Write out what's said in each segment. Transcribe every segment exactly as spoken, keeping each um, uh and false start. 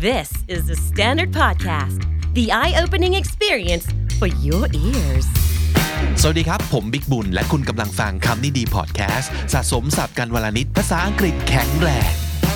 This is the Standard Podcast, the eye-opening experience for your ears. สวัสดีครับผมบิ๊กบุญและคุณกำลังฟังคำนี้ดีพอดแคสต์สะสมศัพท์กันวลนิดภาษาอังกฤษแข็งแรง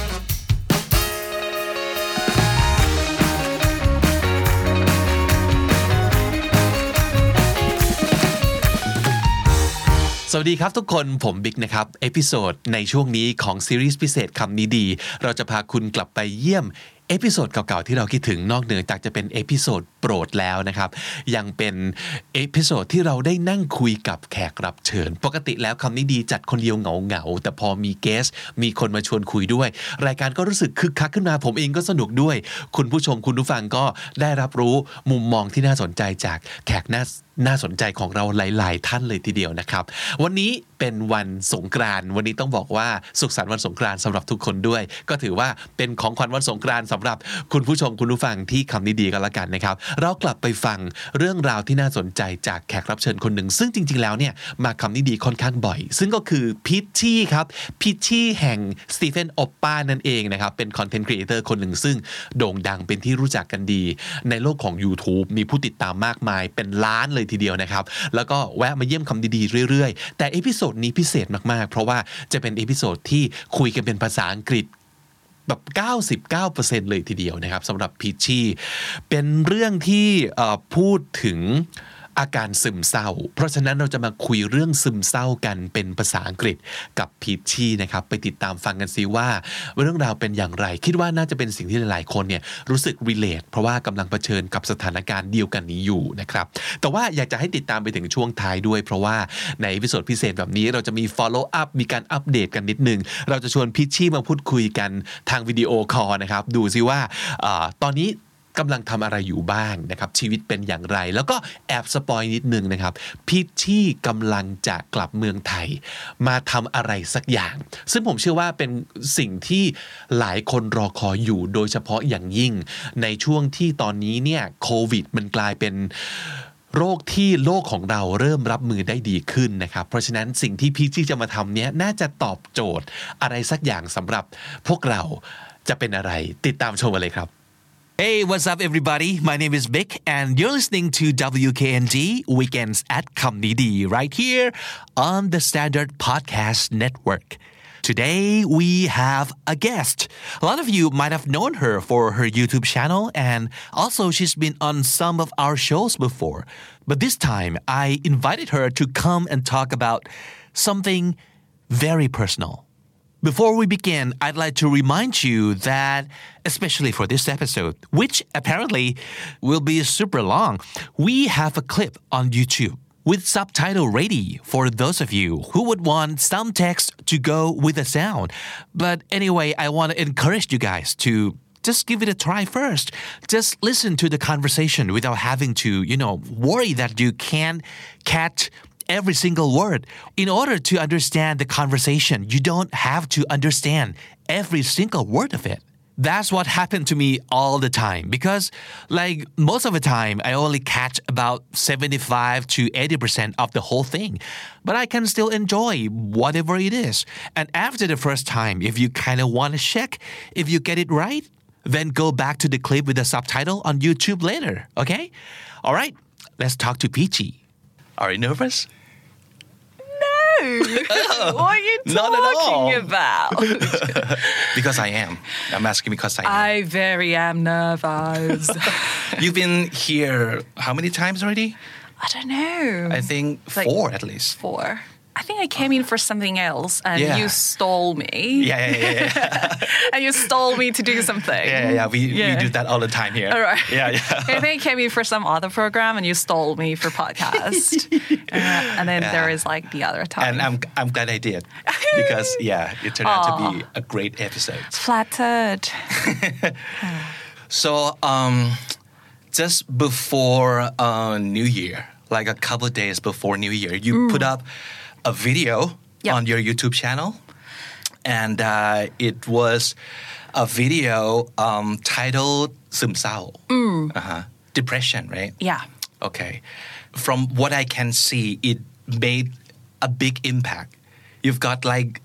สวัสดีครับทุกคนผมบิ๊กนะครับเอพิโซดในช่วงนี้ของซีรีส์พิเศษคำนี้ดีเราจะพาคุณกลับไปเยี่ยมเอพิโซดเก่าๆที่เราคิดถึงนอกเหนือจากจะเป็นเอพิโซดโปรดแล้วนะครับยังเป็นเอพิโซดที่เราได้นั่งคุยกับแขกรับเชิญปกติแล้วคำนี้ดีจัดคนเดียวเหงาๆแต่พอมีเกสต์มีคนมาชวนคุยด้วยรายการก็รู้สึกคึกคักขึ้นมาผมเองก็สนุกด้วยคุณผู้ชมคุณผู้ฟังก็ได้รับรู้มุมมองที่น่าสนใจจากแขกน่าน่าสนใจของเราหลายๆท่านเลยทีเดียวนะครับวันนี้เป็นวันสงกรานต์วันนี้ต้องบอกว่าสุขสันต์วันสงกรานต์สำหรับทุกคนด้วยก็ถือว่าเป็นของขวัญวันสงกรานต์สำหรับคุณผู้ชมคุณผู้ฟังที่คำนี้ดีกันละกันนะครับเรากลับไปฟังเรื่องราวที่น่าสนใจจากแขกรับเชิญคนหนึ่งซึ่งจริงๆแล้วเนี่ยมาคำนี้ดีค่อนข้างบ่อยซึ่งก็คือพิชชี่ครับพิชชี่แห่งสตีเฟนโอปป้านั่นเองนะครับเป็นคอนเทนต์ครีเอเตอร์คนหนึ่งซึ่งโด่งดังเป็นที่รู้จักกันดีในโลกของ YouTube มีผู้ติดตามมากมายเป็นล้านเลยทีเดียวนะครับแล้วก็แวะมาเยี่ยมคำดีๆเรื่อยๆแต่เอพิโซดนี้พิเศษมากๆเพราะว่าจะเป็นเอพิโซดที่คุยกันเป็นภาษาอังกฤษแบบ เก้าสิบเก้าเปอร์เซ็นต์ เลยทีเดียวนะครับสำหรับพีชชี่เป็นเรื่องที่พูดถึงอาการซึมเศร้าเพราะฉะนั้นเราจะมาคุยเรื่องซึมเศร้ากันเป็นภาษาอังกฤษกับพีชชี่นะครับไปติดตามฟังกันซิว่าเรื่องราวเป็นอย่างไรคิดว่าน่าจะเป็นสิ่งที่หลายๆคนเนี่ยรู้สึก relate เพราะว่ากำลังเผชิญกับสถานการณ์เดียวกันนี้อยู่นะครับแต่ว่าอยากจะให้ติดตามไปถึงช่วงท้ายด้วยเพราะว่าในเอพิโซดพิเศษแบบนี้เราจะมี follow up มีการอัปเดตกันนิดนึงเราจะชวนพีชชี่มาพูดคุยกันทางวิดีโอคอลนะครับดูซิว่าอ่าตอนนี้กำลังทำอะไรอยู่บ้างนะครับชีวิตเป็นอย่างไรแล้วก็แอบสปอยนิดนึงนะครับพิชชี่กำลังจะกลับเมืองไทยมาทำอะไรสักอย่างซึ่งผมเชื่อว่าเป็นสิ่งที่หลายคนรอคอยอยู่โดยเฉพาะอย่างยิ่งในช่วงที่ตอนนี้เนี่ยโควิดมันกลายเป็นโรคที่โลกของเราเริ่มรับมือได้ดีขึ้นนะครับเพราะฉะนั้นสิ่งที่พิชชี่จะมาทำเนี้ยน่าจะตอบโจทย์อะไรสักอย่างสำหรับพวกเราจะเป็นอะไรติดตามชมกันเลยครับHey, what's up, everybody? My name is Vic, and you're listening to W K N D Weekends at Kamnidi right here on the Standard Podcast Network. Today, we have a guest. A lot of you might have known her for her YouTube channel, and also she's been on some of our shows before. But this time, I invited her to come and talk about something very personal.Before we begin, I'd like to remind you that, especially for this episode, which apparently will be super long, we have a clip on YouTube with subtitle ready for those of you who would want some text to go with the sound. But anyway, I want to encourage you guys to just give it a try first. Just listen to the conversation without having to, you know, worry that you can't catch every single word. In order to understand the conversation, you don't have to understand every single word of it. That's what happened to me all the time because like most of the time, I only catch about seventy-five to eighty percent of the whole thing. But I can still enjoy whatever it is. And after the first time, if you kind of want to check if you get it right, then go back to the clip with the subtitle on YouTube later, okay? All right, let's talk to Peachy.Are you nervous? No. Oh, what are you talking about? Because I am. I'm asking because I am. I very am nervous. You've been here how many times already? I don't know. I think like four at least. Four. I think I came in for something else and yeah. you stole me. Yeah, yeah, yeah. yeah. And you stole me to do something. Yeah, yeah, yeah. We, yeah. we do that all the time here. All right. Yeah, yeah. I think I came in for some other program and you stole me for podcast. uh, and then yeah. there is like the other time. And I'm I'm glad I did. Because, yeah, it turned out to be a great episode. Flattered. So, um, just before uh, New Year, like a couple of days before New Year, you mm. put up a video yep. on your YouTube channel, and uh, it was a video um, titled ซึมเศร้า mm. uh-huh. Depression, right? Yeah. Okay. From what I can see, it made a big impact. You've got like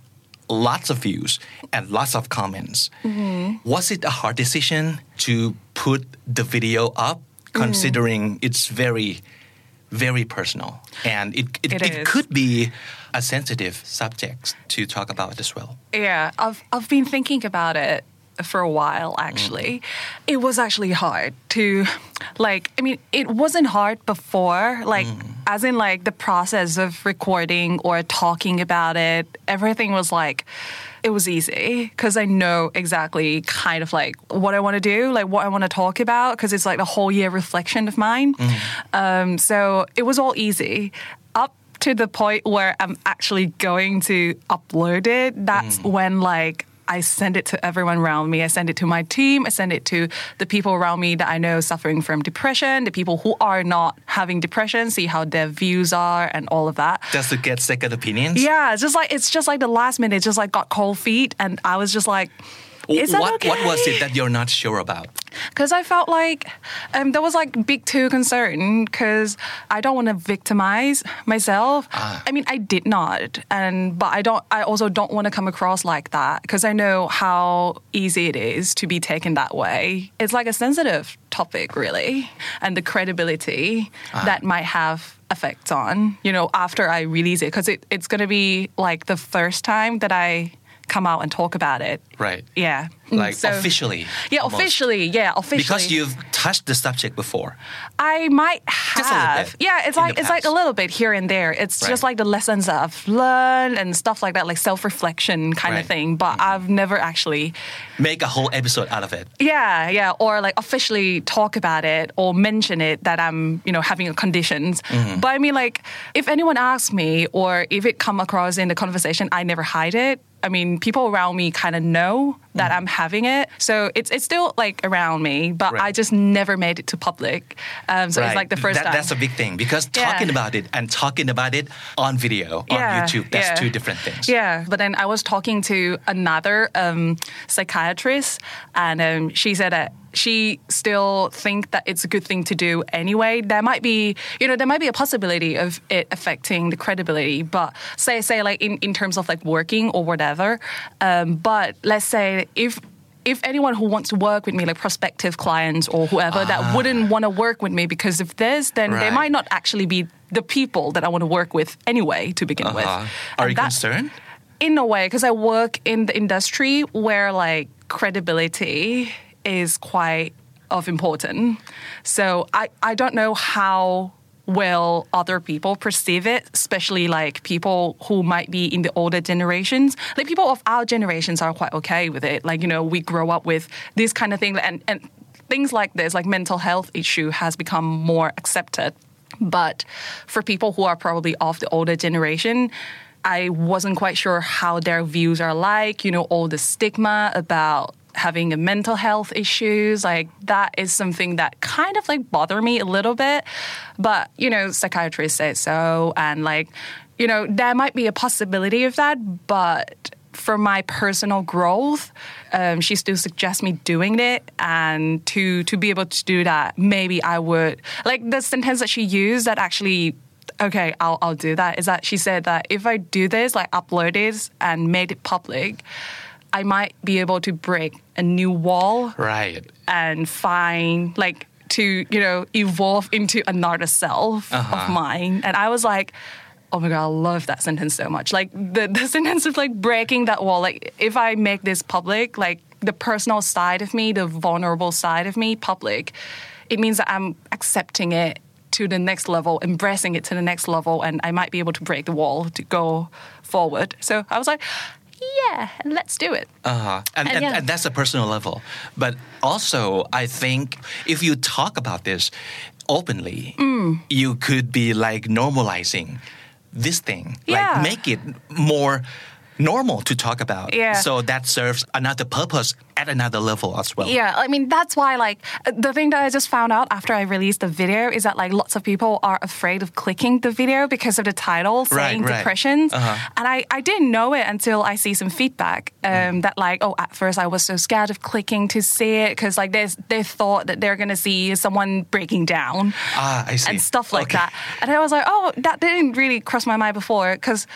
lots of views and lots of comments. Mm-hmm. Was it a hard decision to put the video up, considering mm. it's very, very personal, and it it, it, it could be a sensitive subject to talk about as well? Yeah, I've I've been thinking about it for a while, actually. Mm. It was actually hard to, like, I mean, it wasn't hard before, like, mm. as in, like, the process of recording or talking about it, everything was, like, it was easy because I know exactly kind of, like, what I want to do, like, what I want to talk about, because it's, like, the whole year reflection of mine. Mm. Um, so it was all easy. Up to the point where I'm actually going to upload it, that's mm. when, like, I send it to everyone around me. I send it to my team. I send it to the people around me that I know suffering from depression, the people who are not having depression, see how their views are and all of that. Just to get second opinions? Yeah, it's just like it's just like the last minute, it just like got cold feet, and I was just like, is that what, okay? What was it that you're not sure about? Because I felt like um, there was like big two concern because I don't want to victimize myself. Ah. I mean, I did not, and but I don't. I also don't want to come across like that because I know how easy it is to be taken that way. It's like a sensitive topic, really, and the credibility ah. that might have effects on, you know, after I release it, because it, it's going to be like the first time that I come out and talk about it. Right. Yeah. Like so, officially. Yeah, almost. officially. Yeah, officially. Because you've touched the subject before. I might have. Just a little bit. Yeah, it's like it's like a little bit here and there. It's right. just like the lessons that I've learned and stuff like that, like self-reflection kind right. of thing. But mm-hmm. I've never actually make a whole episode out of it. Yeah, yeah, or like officially talk about it or mention it that I'm, you know, having a conditions. Mm-hmm. But I mean, like, if anyone asks me or if it come across in the conversation, I never hide it. I mean, people around me kind of know that mm. I'm having it. So it's it's still like around me, but right. I just never made it to public. Um, so right. it's like the first that, time. That's a big thing because talking yeah. about it and talking about it on video, yeah. on YouTube, that's yeah. two different things. Yeah, but then I was talking to another um, psychiatrist, and um, she said that she still think that it's a good thing to do anyway. There might be, you know, there might be a possibility of it affecting the credibility, but say, say like in, in terms of like working or whatever. Um, but let's say if if anyone who wants to work with me, like prospective clients or whoever ah. that wouldn't want to work with me because of this, then right. they might not actually be the people that I want to work with anyway to begin uh-huh. with. Are and you that, concerned? In a way, because I work in the industry where like credibility is quite of important. So I, I don't know how well other people perceive it, especially like people who might be in the older generations. Like people of our generations are quite okay with it. Like, you know, we grow up with this kind of thing and, and things like this, like mental health issue has become more accepted. But for people who are probably of the older generation, I wasn't quite sure how their views are like, you know, all the stigma about having a mental health issues, like that is something that kind of like bother me a little bit. But, you know, psychiatrists say so. And like, you know, there might be a possibility of that. But for my personal growth, um, she still suggests me doing it. And to, to be able to do that, maybe I would, like the sentence that she used that actually, okay, I'll, I'll do that, is that she said that if I do this, like upload this and made it public, I might be able to break a new wall. Right. And find, like, to, you know, evolve into another self uh-huh. of mine. And I was like, oh my God, I love that sentence so much. Like, the, the sentence of, like, breaking that wall. Like, if I make this public, like, the personal side of me, the vulnerable side of me public, it means that I'm accepting it to the next level, embracing it to the next level, and I might be able to break the wall to go forward. So I was like, yeah, let's do it. Uh-huh. And, and, yeah. and that's a personal level. But also, I think if you talk about this openly, mm. you could be like normalizing this thing. Yeah. Like make it more normal to talk about. Yeah. So that serves another purpose at another level as well. Yeah, I mean, that's why, like, the thing that I just found out after I released the video is that, like, lots of people are afraid of clicking the video because of the title saying right, right. depressions. Uh-huh. And I, I didn't know it until I see some feedback um, mm. that, like, oh, at first I was so scared of clicking to see it because, like, they they thought that they're going to see someone breaking down. Ah, I see. And stuff like okay. that. And I was like, oh, that didn't really cross my mind before because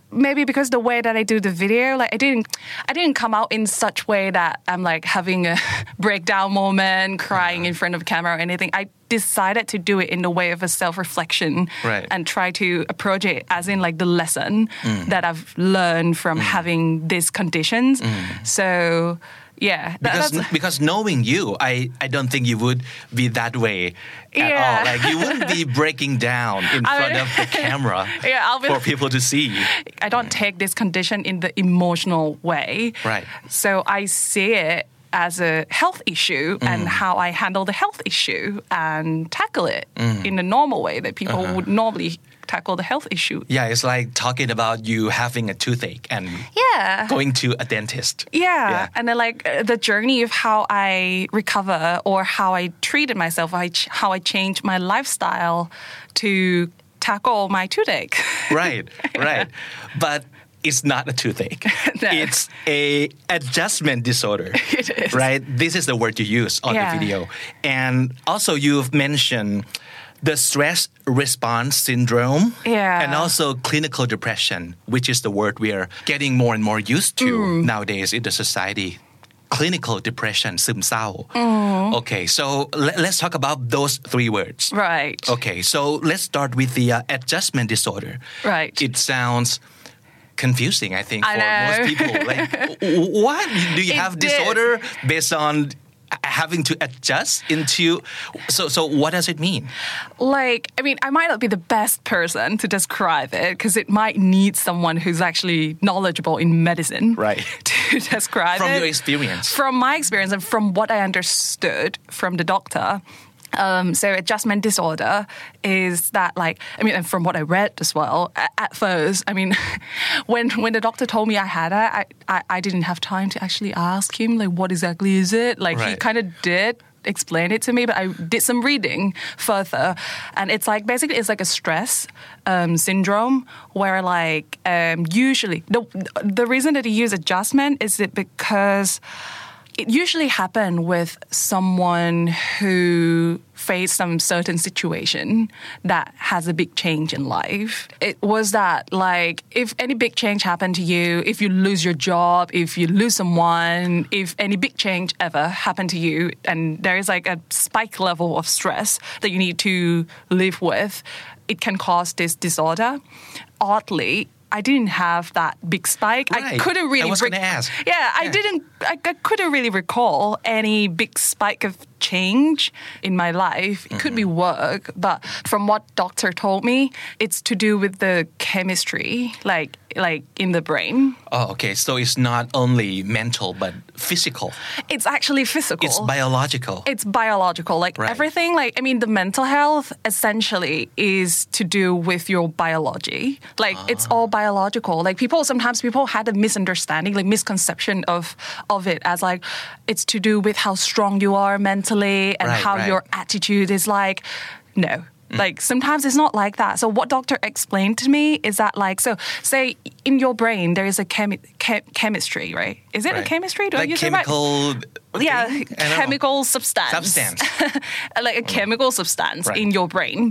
maybe because the way that I do the video, like I didn't, I didn't come out in such way that I'm like having a breakdown moment, crying in front of camera or anything. I decided to do it in the way of a self-reflection Right. and try to approach it as in like the lesson that I've learned from having these conditions. So yeah, that- Because that's, because knowing you, I, I don't think you would be that way at Yeah. all. Like you wouldn't be breaking down in I front mean- of the camera Yeah, I'll be- for people to see. I don't take this condition in the emotional way. Right. So I see it as a health issue and how I handle the health issue and tackle it in the normal way that people would normally tackle the health issue. Yeah, it's like talking about you having a toothache and Yeah. going to a dentist. Yeah. Yeah. And then like uh, the journey of how I recover or how I treated myself, I ch- how I changed my lifestyle to tackle my toothache. Right, right. But it's not a toothache. No. It's a adjustment disorder. It is. Right? This is the word you use on Yeah. the video. And also you've mentioned the stress response syndrome Yeah. and also clinical depression, which is the word we are getting more and more used to Mm. nowadays in the society. Clinical depression, ซึมเศร้า Okay, so le- let's talk about those three words. Right. Okay, so let's start with the uh, adjustment disorder. Right. It sounds confusing, I think, I for know. most people. Like, w- what? Do you It have did. disorder based on having to adjust into... So, so what does it mean? Like, I mean, I might not be the best person to describe it because it might need someone who's actually knowledgeable in medicine Right. to describe From it. your experience. From my experience and from what I understood from the doctor. Um, so adjustment disorder is that like, I mean, and from what I read as well, at, at first, I mean, when when the doctor told me I had it, I, I, I didn't have time to actually ask him, like, what exactly is it? Like, he Right. kind of did explain it to me, but I did some reading further. And it's like, basically, it's like a stress um, syndrome where like, um, usually, the, the reason that he used adjustment is it because it usually happens with someone who faced some certain situation that has a big change in life. It was that like if any big change happened to you, if you lose your job, if you lose someone, if any big change ever happened to you, and there is like a spike level of stress that you need to live with, it can cause this disorder. Oddly, I didn't have that big spike. I Right. couldn't really. I was gonna ask. Yeah, I Yeah. didn't. I, I couldn't really recall any big spike of change in my life. It could be work, but from what doctor told me, it's to do with the chemistry, like like in the brain. Oh, okay. So it's not only mental, but physical. It's actually physical. It's biological. It's biological. Like Right. everything, like, I mean, the mental health essentially is to do with your biology. Like it's all biological. Like people, sometimes people had a misunderstanding, like misconception of, of it as like, it's to do with how strong you are mentally and Right, how right. your attitude is like. No. Like sometimes it's not like that. So what doctor explained to me is that like, so say in your brain, there is a chemi- chem- chemistry, right? Is it Right. a chemistry? Do like I use it right? chemical... Yeah, thing? I don't know. chemical substance. Substance. Like a chemical substance Right. in your brain.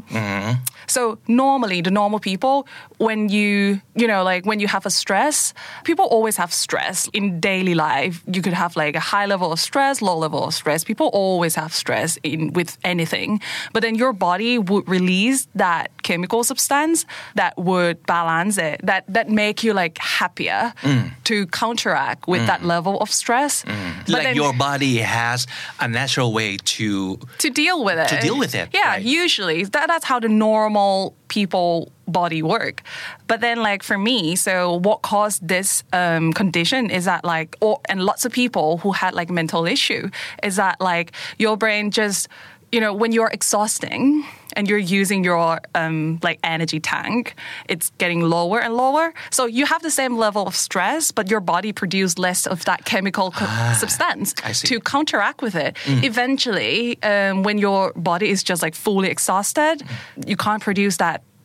So normally, the normal people, when you, you know, like when you have a stress, people always have stress in daily life. You could have like a high level of stress, low level of stress. People always have stress in with anything. But then your body would release that chemical substance that would balance it, that that make you like happier to counteract with that level of stress. But Like then- your body has a natural way to... to deal with it. To deal with it, Yeah, right. usually that, that's how the normal people body work. But then like for me, so what caused this um, condition is that like, or, and lots of people who had like mental issue is that like your brain just, you know, when you're exhausting and you're using your um, like energy tank, it's getting lower and lower. So you have the same level of stress, but your body produces less of that chemical co- substance I see. to counteract with it. Eventually, um, when your body is just like fully exhausted, you can't produce that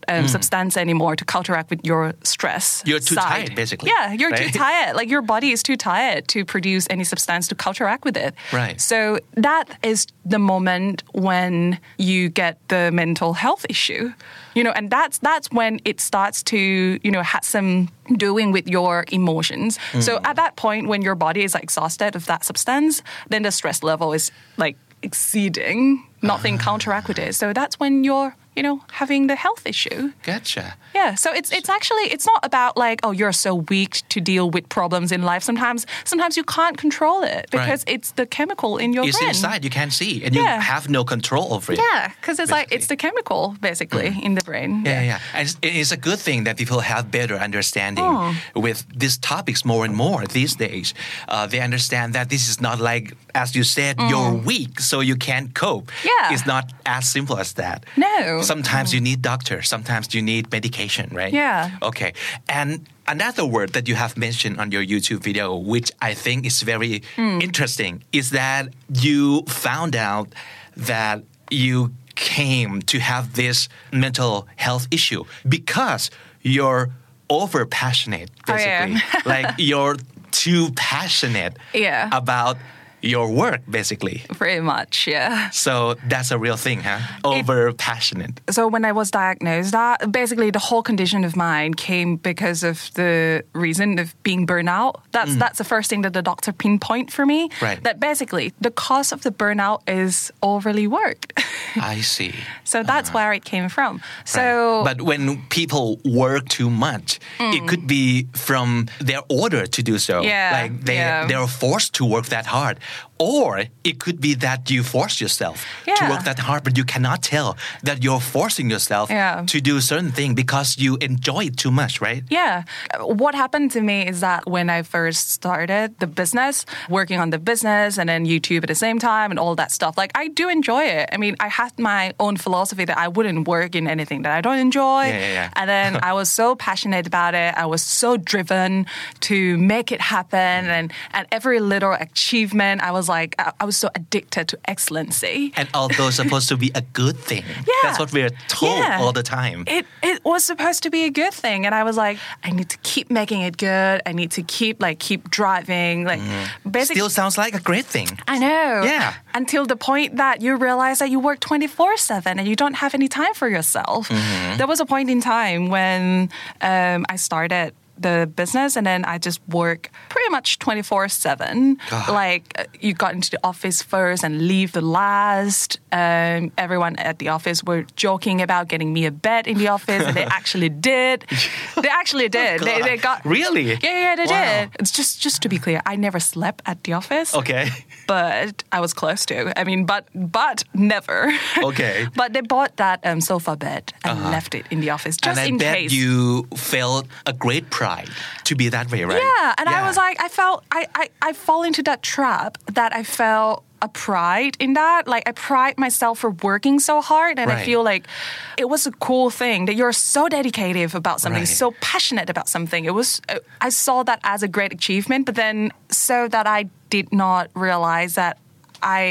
um, substance anymore to counteract with your stress. You're too side. tired, basically. Yeah, you're right? too tired. Like your body is too tired to produce any substance to counteract with it. Right. So that is the moment when you get the mental health issue. You know, and that's that's when it starts to, you know, have some doing with your emotions. Mm. So at that point, when your body is like, exhausted of that substance, then the stress level is like exceeding, nothing uh. counteract with it. So that's when you're, you know, having the health issue. Gotcha. Yeah, so it's it's actually it's not about like, oh, you're so weak to deal with problems in life. Sometimes sometimes you can't control it because right. it's the chemical in your it's brain. It's inside, you can't see, and yeah. you have no control over it. Yeah, because it's basically. like it's the chemical basically mm. in the brain. Yeah, yeah, yeah. And it's, it's a good thing that people have better understanding oh. with these topics more and more these days. Uh, they understand that this is not like, as you said, mm. you're weak, so you can't cope. Yeah. It's not as simple as that. No. Sometimes mm. you need doctors. Sometimes you need medication, right? Yeah. Okay. And another word that you have mentioned on your YouTube video, which I think is very mm. interesting, is that you found out that you came to have this mental health issue because you're over passionate, basically. Like you're too passionate yeah. about your work, basically. Pretty much, yeah. So that's a real thing, huh? Over passionate. So when I was diagnosed, that basically the whole condition of mine came because of the reason of being burnout. That's mm. that's the first thing that the doctor pinpoint for me. Right. That basically the cause of the burnout is overly worked. I see. So that's uh-huh. where it came from. So, right. But when people work too much, mm. it could be from their order to do so. Yeah. Like they yeah. they're forced to work that hard. Or it could be that you force yourself yeah. to work that hard, but you cannot tell that you're forcing yourself yeah. to do a certain thing because you enjoy it too much, right? Yeah. What happened to me is that when I first started the business, working on the business and then YouTube at the same time and all that stuff, like I do enjoy it. I mean, I had my own philosophy that I wouldn't work in anything that I don't enjoy. Yeah, yeah, yeah. And then I was so passionate about it. I was so driven to make it happen. And, and every little achievement, I was like, I, I was so addicted to excellency. And although it's supposed to be a good thing, yeah. that's what we're told yeah. all the time. It it was supposed to be a good thing, and I was like, I need to keep making it good. I need to keep like keep driving. Like, mm. basically, still sounds like a great thing. I know. Yeah. Until the point that you realize that you work twenty-four seven and you don't have any time for yourself. Mm-hmm. There was a point in time when um, I started the business and then I just work pretty much twenty-four seven. Like you got into the office first and leave the last. Um, everyone at the office were joking about getting me a bed in the office and they actually did. They actually did. Oh, they, they got Really? Yeah, yeah, they wow. did. It's just just to be clear, I never slept at the office. Okay. But I was close to. I mean, but but never. Okay. But they bought that um, sofa bed and uh-huh. left it in the office just and I in bet case. you felt a great pride to be that way, right? Yeah, and yeah. I was like, I felt, I, I, I fall into that trap that I felt a pride in that. Like I pride myself for working so hard and right. I feel like it was a cool thing that you're so dedicated about something, right. so passionate about something. It was, I saw that as a great achievement, but then so that I did not realize that I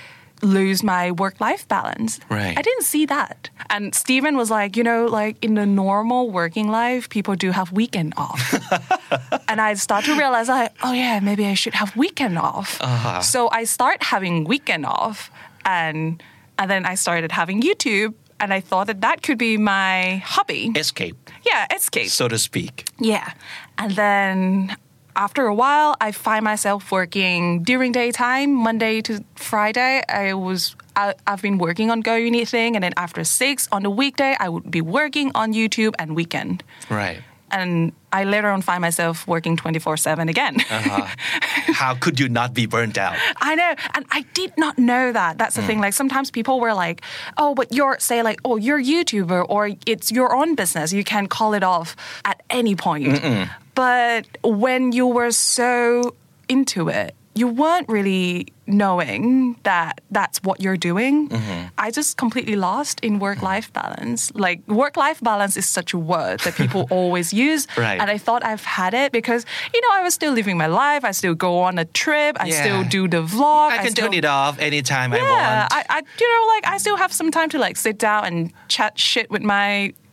lose my work-life balance. Right. I didn't see that. And Stephen was like, you know, like in the normal working life, people do have weekend off. And I start to realize, like, oh yeah, maybe I should have weekend off. Uh-huh. So I start having weekend off, and and then I started having YouTube, and I thought that that could be my hobby. Escape. Yeah, escape. So to speak. Yeah. And then after a while, I find myself working during daytime, Monday to Friday. I was, I, I've been working on Go Uni thing, and then after six on the weekday, I would be working on YouTube and weekend. Right. And I later on find myself working twenty-four seven again. Uh-huh. How could you not be burnt out? I know. And I did not know that. That's the mm. thing. Like sometimes people were like, oh, but you're, say like, oh, you're a YouTuber or it's your own business. You can call it off at any point. Mm-mm. But when you were so into it, you weren't really knowing that that's what you're doing. Mm-hmm. I just completely lost in work-life balance. Like work-life balance is such a word that people always use. Right. And I thought I've had it because, you know, I was still living my life. I still go on a trip. I yeah. still do the vlog. I can I still, turn it off anytime yeah, I want. I, I, you know, like I still have some time to like sit down and chat shit with my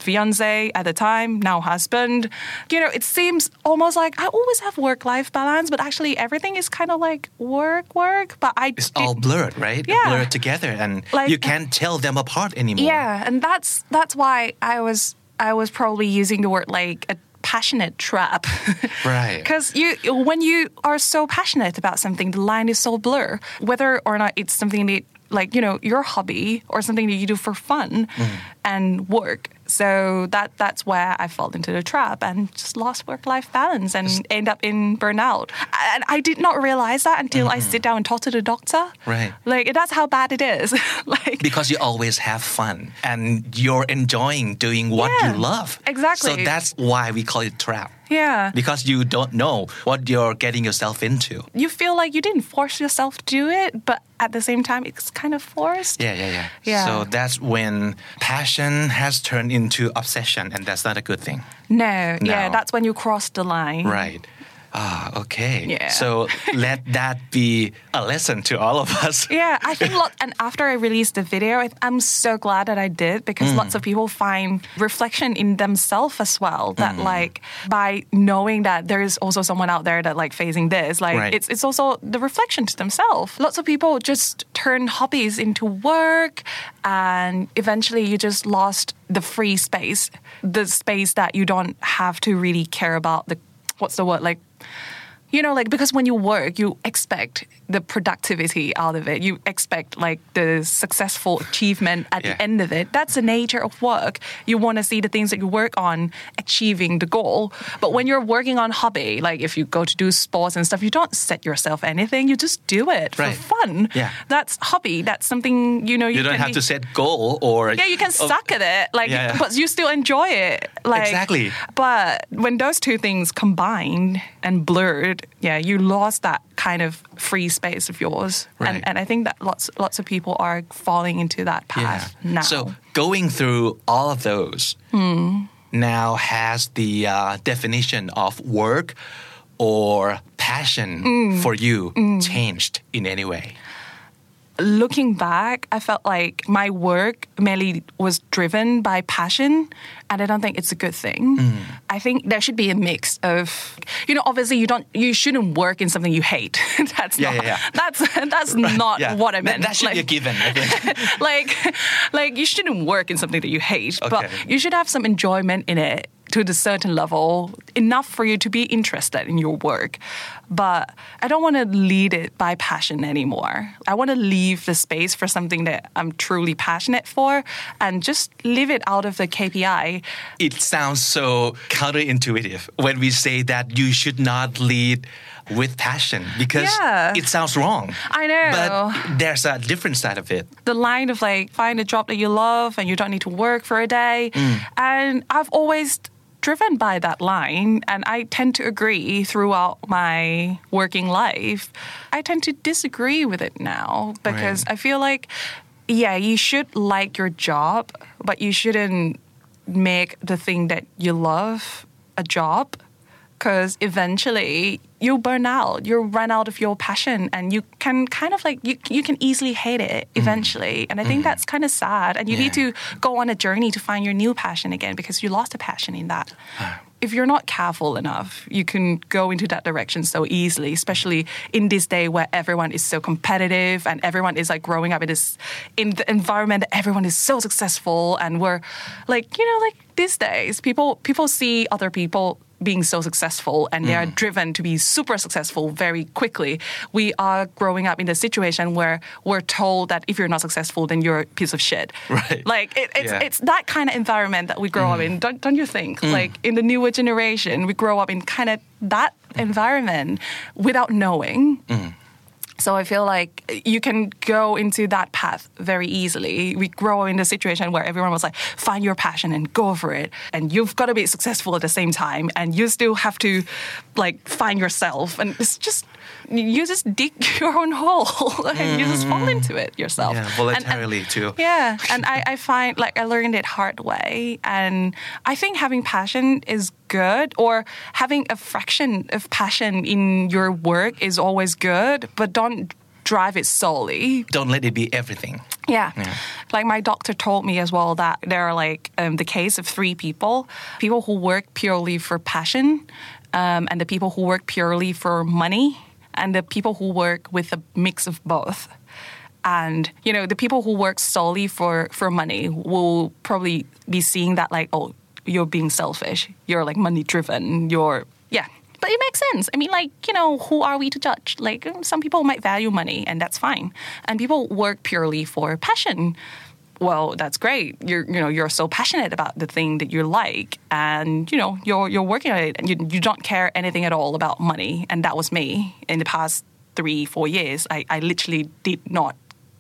fiance at the time, now husband. You know, it seems almost like I always have work-life balance, but actually everything is kind of like work, work. But I It's did- all blurred, right? Yeah. Blurred together, and Like- you can't tell them apart anymore. Yeah, and that's that's why I was I was probably using the word like a passionate trap. Right. Because you when you are so passionate about something, the line is so blur. Whether or not it's something that like, you know, your hobby or something that you do for fun and work. So that that's where I fell into the trap and just lost work-life balance and end up in burnout. And I did not realize that until I sit down and talk to the doctor. Right. Like, that's how bad it is. Like, Because you always have fun and you're enjoying doing what Yeah, you love. exactly. So that's why we call it trap. yeah. Because you don't know what you're getting yourself into. You feel like you didn't force yourself to do it, but at the same time, it's kind of forced. Yeah, yeah, yeah. Yeah. So that's when passion has turned into obsession, and that's not a good thing. No, yeah, No. that's when you cross the line. Right. Ah, okay. Yeah. So let that be a lesson to all of us. Yeah, I think lot, and after I released the video, I, I'm so glad that I did because lots of people find reflection in themselves as well. That like by knowing that there is also someone out there that like facing this, like Right. it's it's also the reflection to themselves. Lots of people just turn hobbies into work, and eventually you just lost the free space, the space that you don't have to really care about the what's the word like. You know, like, because when you work, you expect the productivity out of it. You expect, like, the successful achievement at Yeah. the end of it. That's the nature of work. You want to see the things that you work on achieving the goal. But when you're working on hobby, like, if you go to do sports and stuff, you don't set yourself anything. You just do it Right. for fun. Yeah. That's hobby. That's something, you know, you, You don't can have be- to set goal or... yeah, you can Oh, suck at it, like, Yeah. but you still enjoy it. Like, Exactly. But when those two things combined and blurred, yeah, you lost that kind of free space of yours, Right. and and I think that lots lots of people are falling into that path now. So going through all of those now has the uh, definition of work or passion for you changed in any way? Looking back, I felt like my work mainly was driven by passion, and I don't think it's a good thing. I think there should be a mix of, you know, obviously you don't, you shouldn't work in something you hate. that's Yeah, not, yeah, yeah. that's that's not Yeah. what I That- meant. That, should Like- be a given, I think. like, like you shouldn't work in something that you hate, but Okay. you should have some enjoyment in it to a certain level, enough for you to be interested in your work. But I don't want to lead it by passion anymore. I want to leave the space for something that I'm truly passionate for and just leave it out of the K P I. It sounds so counterintuitive when we say that you should not lead with passion because Yeah. it sounds wrong. I know. But there's a different side of it. The line of like, find a job that you love and you don't need to work for a day. And I've always driven by that line, and I tend to agree throughout my working life. I tend to disagree with it now because Right. I feel like, yeah, you should like your job, but you shouldn't make the thing that you love a job, because eventually you'll burn out, you'll run out of your passion, and you can kind of like, you, you can easily hate it eventually. And I think that's kind of sad. And you need Yeah. to go on a journey to find your new passion again because you lost a passion in that. If you're not careful enough, you can go into that direction so easily, especially in this day where everyone is so competitive and everyone is like growing up in this, in the environment that everyone is so successful. And we're like, you know, like these days, people, people see other people being so successful and they are driven to be super successful very quickly. We are growing up in a situation where we're told that if you're not successful, then you're a piece of shit. Right. Like it, it's Yeah. it's that kind of environment that we grow up in. Don't don't you think? Like in the newer generation, we grow up in kind of that environment without knowing. So I feel like you can go into that path very easily. We grow in a situation where everyone was like, find your passion and go for it. And you've got to be successful at the same time. And you still have to like find yourself. And it's just, you just dig your own hole and you just fall into it yourself. Yeah, And- voluntarily and, too. Yeah. And I, I find like I learned it hard way. And I think having passion is good, or having a fraction of passion in your work is always good, but don't drive it solely. Don't let it be everything. Yeah. yeah. Like my doctor told me as well that there are like um, the case of three people, people who work purely for passion, um, and the people who work purely for money, and the people who work with a mix of both. And, you know, the people who work solely for, for money will probably be seeing that like, oh, you're being selfish. You're like money driven. You're, yeah. But it makes sense. I mean, like, you know, who are we to judge? Like, some people might value money, and that's fine. And people work purely for passion. Well, that's great. You're, you know, you're so passionate about the thing that you like, and you know, you're you're working on it, and you you don't care anything at all about money. And that was me in the past three, four years. I, I literally did not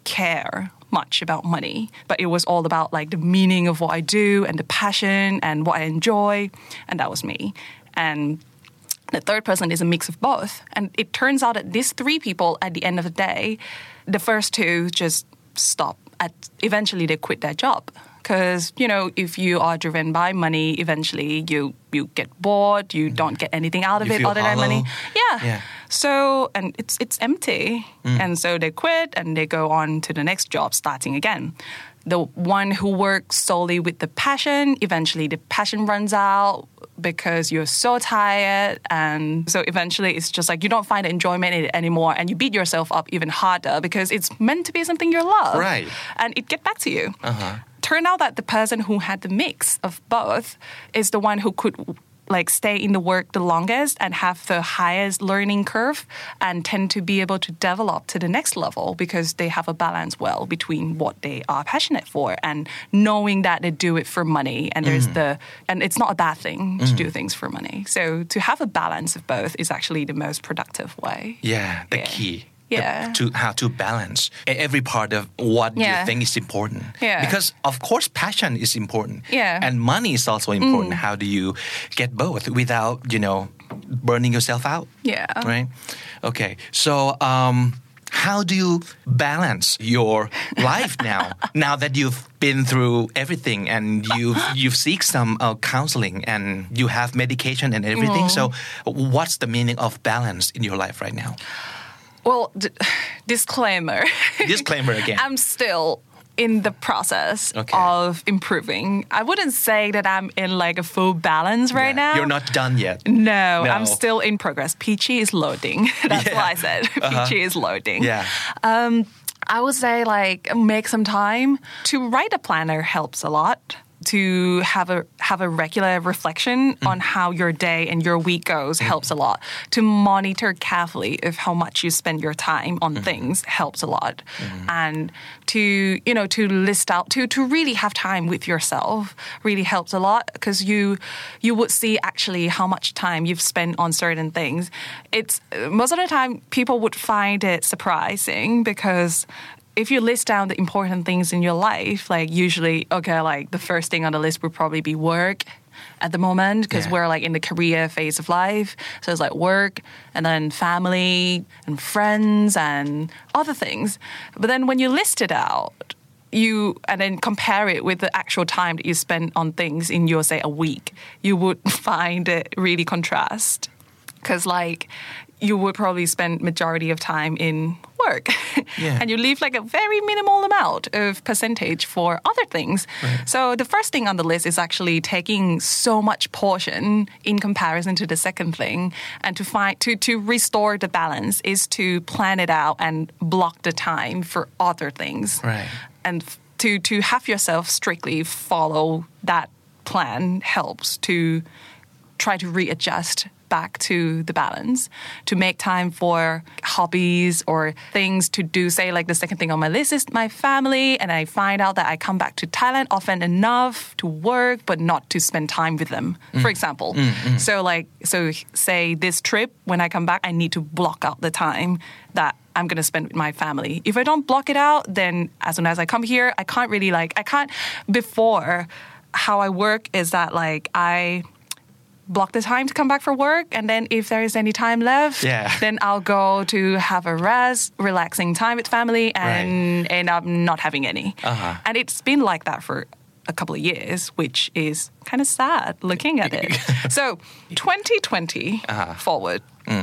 care much about money, but it was all about like the meaning of what I do and the passion and what I enjoy, and that was me. And the third person is a mix of both. And it turns out that these three people, at the end of the day, the first two just stop. At, eventually, they quit their job. Because, you know, if you are driven by money, eventually you, you get bored. You don't get anything out of you it feel other hollow. than money. Yeah. yeah. So, and it's it's empty. Mm. And so they quit and they go on to the next job, starting again. The one who works solely with the passion, eventually the passion runs out because you're so tired. And so eventually it's just like you don't find enjoyment in it anymore, and you beat yourself up even harder because it's meant to be something you love. Right. And it gets back to you. Uh-huh. Turned out that the person who had the mix of both is the one who could like stay in the work the longest and have the highest learning curve and tend to be able to develop to the next level because they have a balance well between what they are passionate for and knowing that they do it for money. And there's mm. the, and it's not a bad thing to mm. do things for money. So to have a balance of both is actually the most productive way. Yeah, the yeah. key. Yeah. To how to balance every part of what yeah. you think is important. Yeah. Because of course passion is important. Yeah. And money is also important. Mm. How do you get both without, you know, burning yourself out? Yeah. Right? Okay. So um, how do you balance your life now? Now that you've been through everything and you've you've seek some uh, counseling and you have medication and everything. Mm. So what's the meaning of balance in your life right now? Well, d- disclaimer. Disclaimer again. I'm still in the process okay. of improving. I wouldn't say that I'm in like a full balance right yeah. now. You're not done yet. No, no. I'm still in progress. Peachy is loading. That's yeah. what I said. Uh-huh. Peachy is loading. Yeah. Um, I would say like make some time. To write a planner helps a lot. To have a have a regular reflection mm. on how your day and your week goes mm. helps a lot. To monitor carefully if how much you spend your time on mm. things helps a lot. Mm. And to you know to list out to to really have time with yourself really helps a lot because you you would see actually how much time you've spent on certain things. It's most of the time people would find it surprising because if you list down the important things in your life, like usually, okay, like the first thing on the list would probably be work at the moment because yeah. we're like in the career phase of life. So it's like work and then family and friends and other things. But then when you list it out, you and then compare it with the actual time that you spend on things in your, say, a week, you would find it really contrast because like you would probably spend majority of time in work yeah. and you leave like a very minimal amount of percentage for other things. Right. So the first thing on the list is actually taking so much portion in comparison to the second thing, and to find to to restore the balance is to plan it out and block the time for other things. Right. And to to have yourself strictly follow that plan helps to try to readjust back to the balance, to make time for hobbies or things to do. Say like the second thing on my list is my family, and I find out that I come back to Thailand often enough to work but not to spend time with them, mm. for example. Mm, mm. So like, so say this trip, when I come back, I need to block out the time that I'm going to spend with my family. If I don't block it out, then as soon as I come here, I can't really like, I can't, before how I work is that like I block the time to come back for work, and then if there is any time left, yeah. then I'll go to have a rest, relaxing time with family, and right. end up not having any. Uh-huh. And it's been like that for a couple of years, which is kind of sad looking at it. So twenty twenty uh-huh. forward, mm.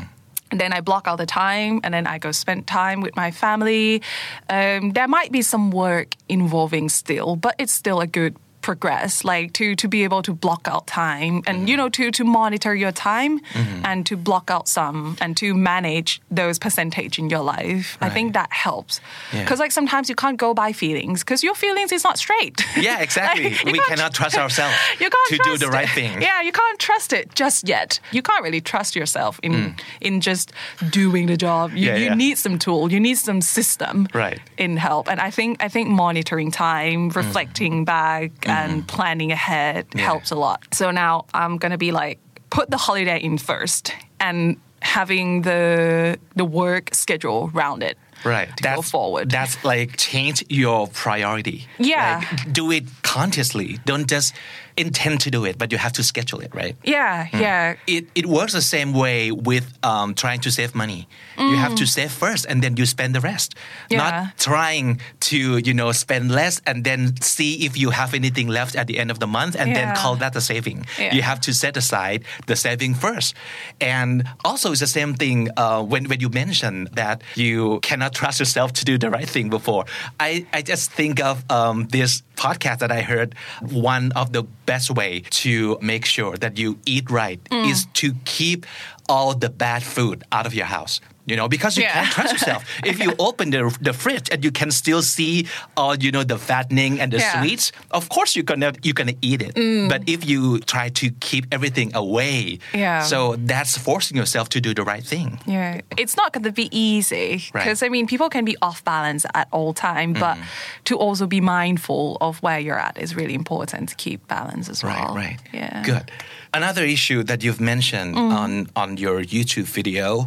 And then I block out the time and then I go spend time with my family. Um, there might be some work involving still, but it's still a good progress, like to to be able to block out time and mm-hmm. you know to to monitor your time mm-hmm. and to block out some and to manage those percentage in your life. Right. I think that helps because yeah. like sometimes you can't go by feelings because your feelings is not straight. Yeah, exactly. Like, we cannot trust ourselves you can't to trust do the right it. thing. Yeah, you can't trust it just yet. You can't really trust yourself in mm. in just doing the job. You, yeah, you yeah. need some tool. You need some system right. in help. And I think I think monitoring time, reflecting mm. back. And mm-hmm. planning ahead yeah. helps a lot. So now I'm going to be like, put the holiday in first and having the the work schedule around it. Right. To that's, go forward. That's like change your priority. Yeah. Like, do it consciously. Don't just intend to do it, but you have to schedule it, right? Yeah, mm. yeah. It it works the same way with um, trying to save money. Mm. You have to save first and then you spend the rest. Yeah. Not trying to, you know, spend less and then see if you have anything left at the end of the month and yeah. then call that a saving. Yeah. You have to set aside the saving first. And also it's the same thing uh, when, when you mentioned that you cannot trust yourself to do the right thing before. I, I just think of um, this podcast that I heard. One of the best way to make sure that you eat right mm. is to keep all the bad food out of your house. You know, because you yeah. can't trust yourself. If you open the the fridge and you can still see all, you know, the fattening and the yeah. sweets, of course you're gonna you're gonna eat it. Mm. But if you try to keep everything away, yeah. so that's forcing yourself to do the right thing. Yeah, it's not gonna be easy because right. I mean, people can be off balance at all time, but mm. to also be mindful of where you're at is really important to keep balance as well. Right, right. Yeah. Good. Another issue that you've mentioned mm. on on your YouTube video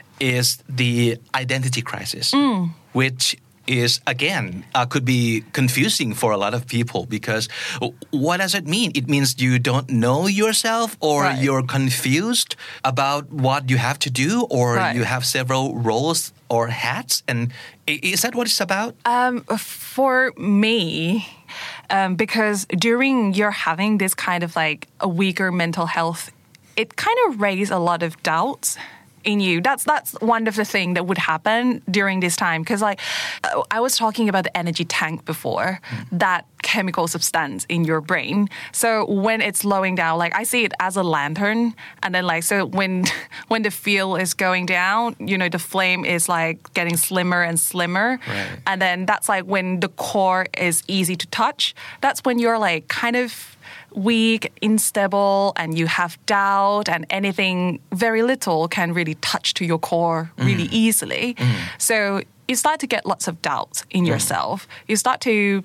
is the identity crisis, mm. which is, again, uh, could be confusing for a lot of people because what does it mean? It means you don't know yourself or right. you're confused about what you have to do or right. you have several roles or hats. And is that what it's about? Um, for me, um, because during you're having this kind of like a weaker mental health, it kind of raised a lot of doubts in you. That's that's one of the things that would happen during this time. Because like I was talking about the energy tank before, mm. that chemical substance in your brain. So when it's slowing down, like I see it as a lantern. And then like, so when when the fuel is going down, you know, the flame is like getting slimmer and slimmer. Right. And then that's like when the core is easy to touch. That's when you're like kind of weak, unstable, and you have doubt, and anything very little can really touch to your core really mm. easily. Mm. So you start to get lots of doubts in mm. yourself. You start to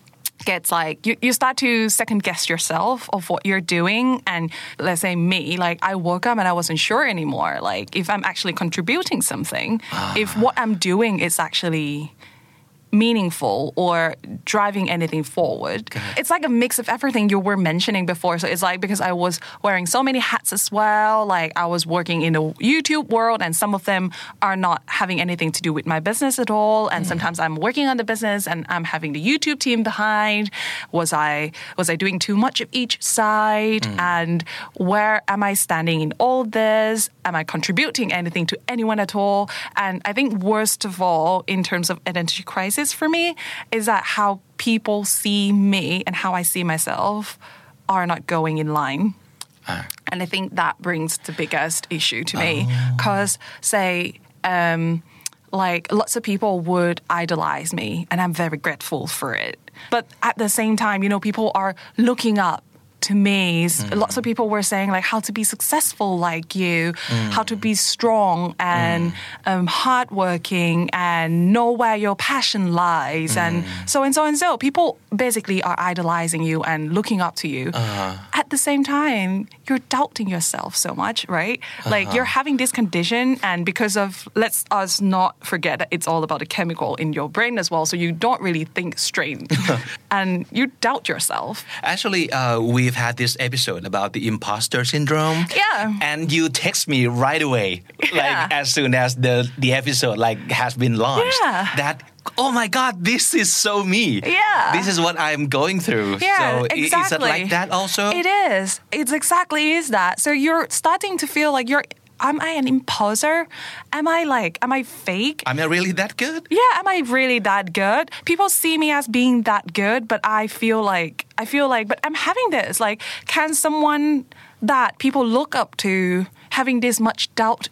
get like, you, you start to second guess yourself of what you're doing. And let's say me, like I woke up and I wasn't sure anymore, like if I'm actually contributing something, ah. if what I'm doing is actually meaningful or driving anything forward. It's like a mix of everything you were mentioning before. So it's like because I was wearing so many hats as well, like I was working in the YouTube world and some of them are not having anything to do with my business at all. And mm. sometimes I'm working on the business and I'm having the YouTube team behind. Was I was I doing too much of each side? Mm. And where am I standing in all this? Am I contributing anything to anyone at all? And I think worst of all, in terms of identity crisis, for me is that how people see me and how I see myself are not going in line. Uh. And I think that brings the biggest issue to me because, oh. say, um, like lots of people would idolize me and I'm very grateful for it. But at the same time, you know, people are looking up to me. Mm. Lots of people were saying like how to be successful like you, mm. how to be strong and mm. um, hardworking and know where your passion lies mm. and so and so and so. People basically are idolizing you and looking up to you. Uh-huh. At the same time, you're doubting yourself so much, right? Uh-huh. Like you're having this condition and because of, let's us not forget that it's all about the chemical in your brain as well. So you don't really think straight and you doubt yourself. Actually, uh, we We've had this episode about the imposter syndrome. Yeah. And you text me right away, like yeah. as soon as the, the episode like has been launched. Yeah. That, oh my God, this is so me. Yeah. This is what I'm going through. Yeah, so exactly. Is it like that also? It is. It's exactly is that. So you're starting to feel like you're am I an imposter? Am I like, am I fake? Am I really that good? Yeah, am I really that good? People see me as being that good, but I feel like, I feel like, but I'm having this. Like, can someone that people look up to having this much doubt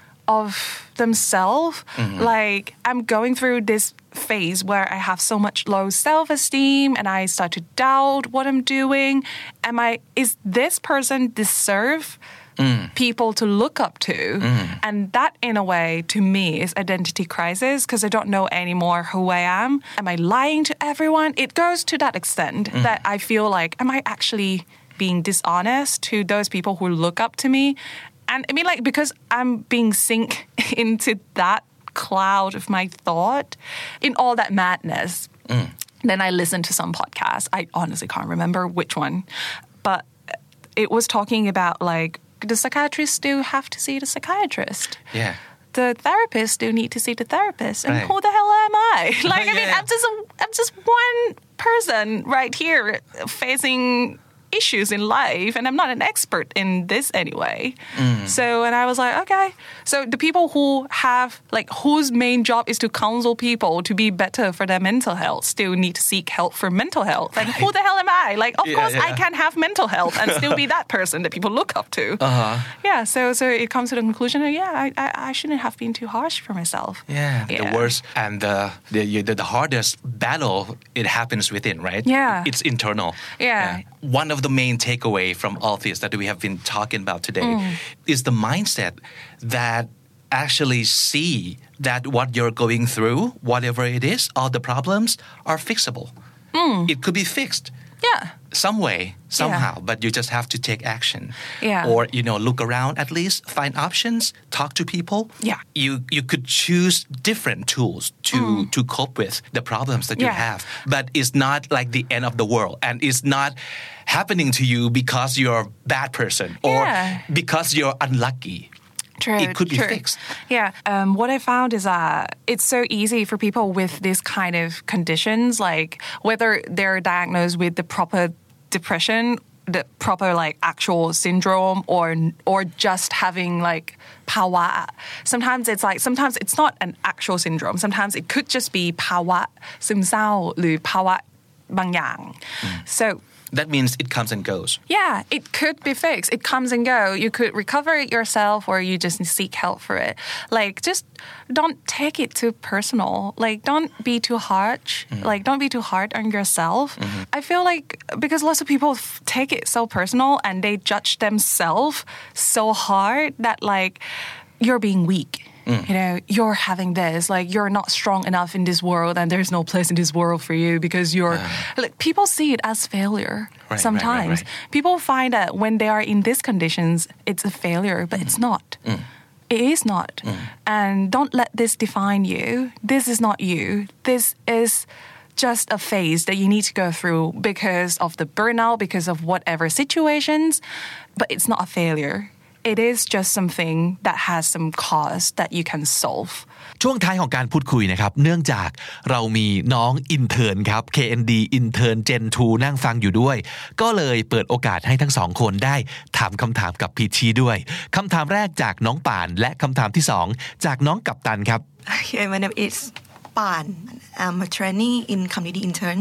of themselves? Mm-hmm. Like, I'm going through this phase where I have so much low self-esteem and I start to doubt what I'm doing. Am I, is this person deserve Mm. people to look up to? Mm. And that, in a way, to me, is identity crisis because I don't know anymore who I am. Am I lying to everyone? It goes to that extent mm. that I feel like, am I actually being dishonest to those people who look up to me? And I mean, like, because I'm being sink into that cloud of my thought, in all that madness, mm. then I listened to some podcast. I honestly can't remember which one, but it was talking about, like, the psychiatrist still have to see the psychiatrist. Yeah. The therapist still need to see the therapist. And right. who the hell am I? Like, I mean, yeah. I'm just a, I'm just one person right here facing issues in life, and I'm not an expert in this anyway. Mm. So, and I was like, okay. So the people who have, like, whose main job is to counsel people to be better for their mental health still need to seek help for mental health. And right. who the hell am I? Like, of yeah, course yeah. I can have mental health and still be that person that people look up to. Uh-huh. Yeah, so so it comes to the conclusion that, yeah, I, I, I shouldn't have been too harsh for myself. Yeah, yeah. the worst and the, the, the, the hardest battle, it happens within, right? Yeah. It's internal. Yeah. yeah. One of the main takeaway from all this that we have been talking about today mm. is the mindset that actually see that what you're going through, whatever it is, all the problems are fixable. Mm. It could be fixed. Yeah. Some way, somehow, yeah. but you just have to take action. Yeah. Or, you know, look around at least, find options, talk to people. Yeah. You you could choose different tools to, mm. to cope with the problems that yeah. you have. But it's not like the end of the world. And it's not happening to you because you're a bad person or yeah. because you're unlucky. True, it could true. be fixed. Yeah. Um, what I found is that it's so easy for people with this kind of conditions, like whether they're diagnosed with the proper depression, the proper like actual syndrome, or or just having like pawa. Sometimes it's like sometimes it's not an actual syndrome. Sometimes it could just be ภาวะซึมเศร้าหรือภาวะบางอย่าง So that means it comes and goes. Yeah, it could be fixed. It comes and go. You could recover it yourself, or you just seek help for it. Like, just don't take it too personal. Like, don't be too harsh. Mm-hmm. Like, don't be too hard on yourself. Mm-hmm. I feel like because lots of people f- take it so personal and they judge themselves so hard that, like, you're being weak. Mm. You know, you're having this, like, you're not strong enough in this world and there's no place in this world for you because you're, uh, like, people see it as failure right, sometimes. Right, right, right. People find that when they are in these conditions, it's a failure, but mm. it's not. Mm. It is not. Mm. And don't let this define you. This is not you. This is just a phase that you need to go through because of the burnout, because of whatever situations, but it's not a failure. It is just something that has some cause that you can solve. ช่วงท้ายของการพูดคุยนะครับเนื่องจากเรามีน้องอินเทิร์นครับ เค เอ็น ดี Intern Gen ทู นั่งฟังอยู่ด้วยก็เลยเปิดโอกาสให้ทั้งสองคนได้ถามคำถามกับพีชีด้วยคำถามแรกจากน้องป่านและคำถามที่สองจากน้องกัปตันครับ Okay, my name is Pan. I'm a trainee in community intern.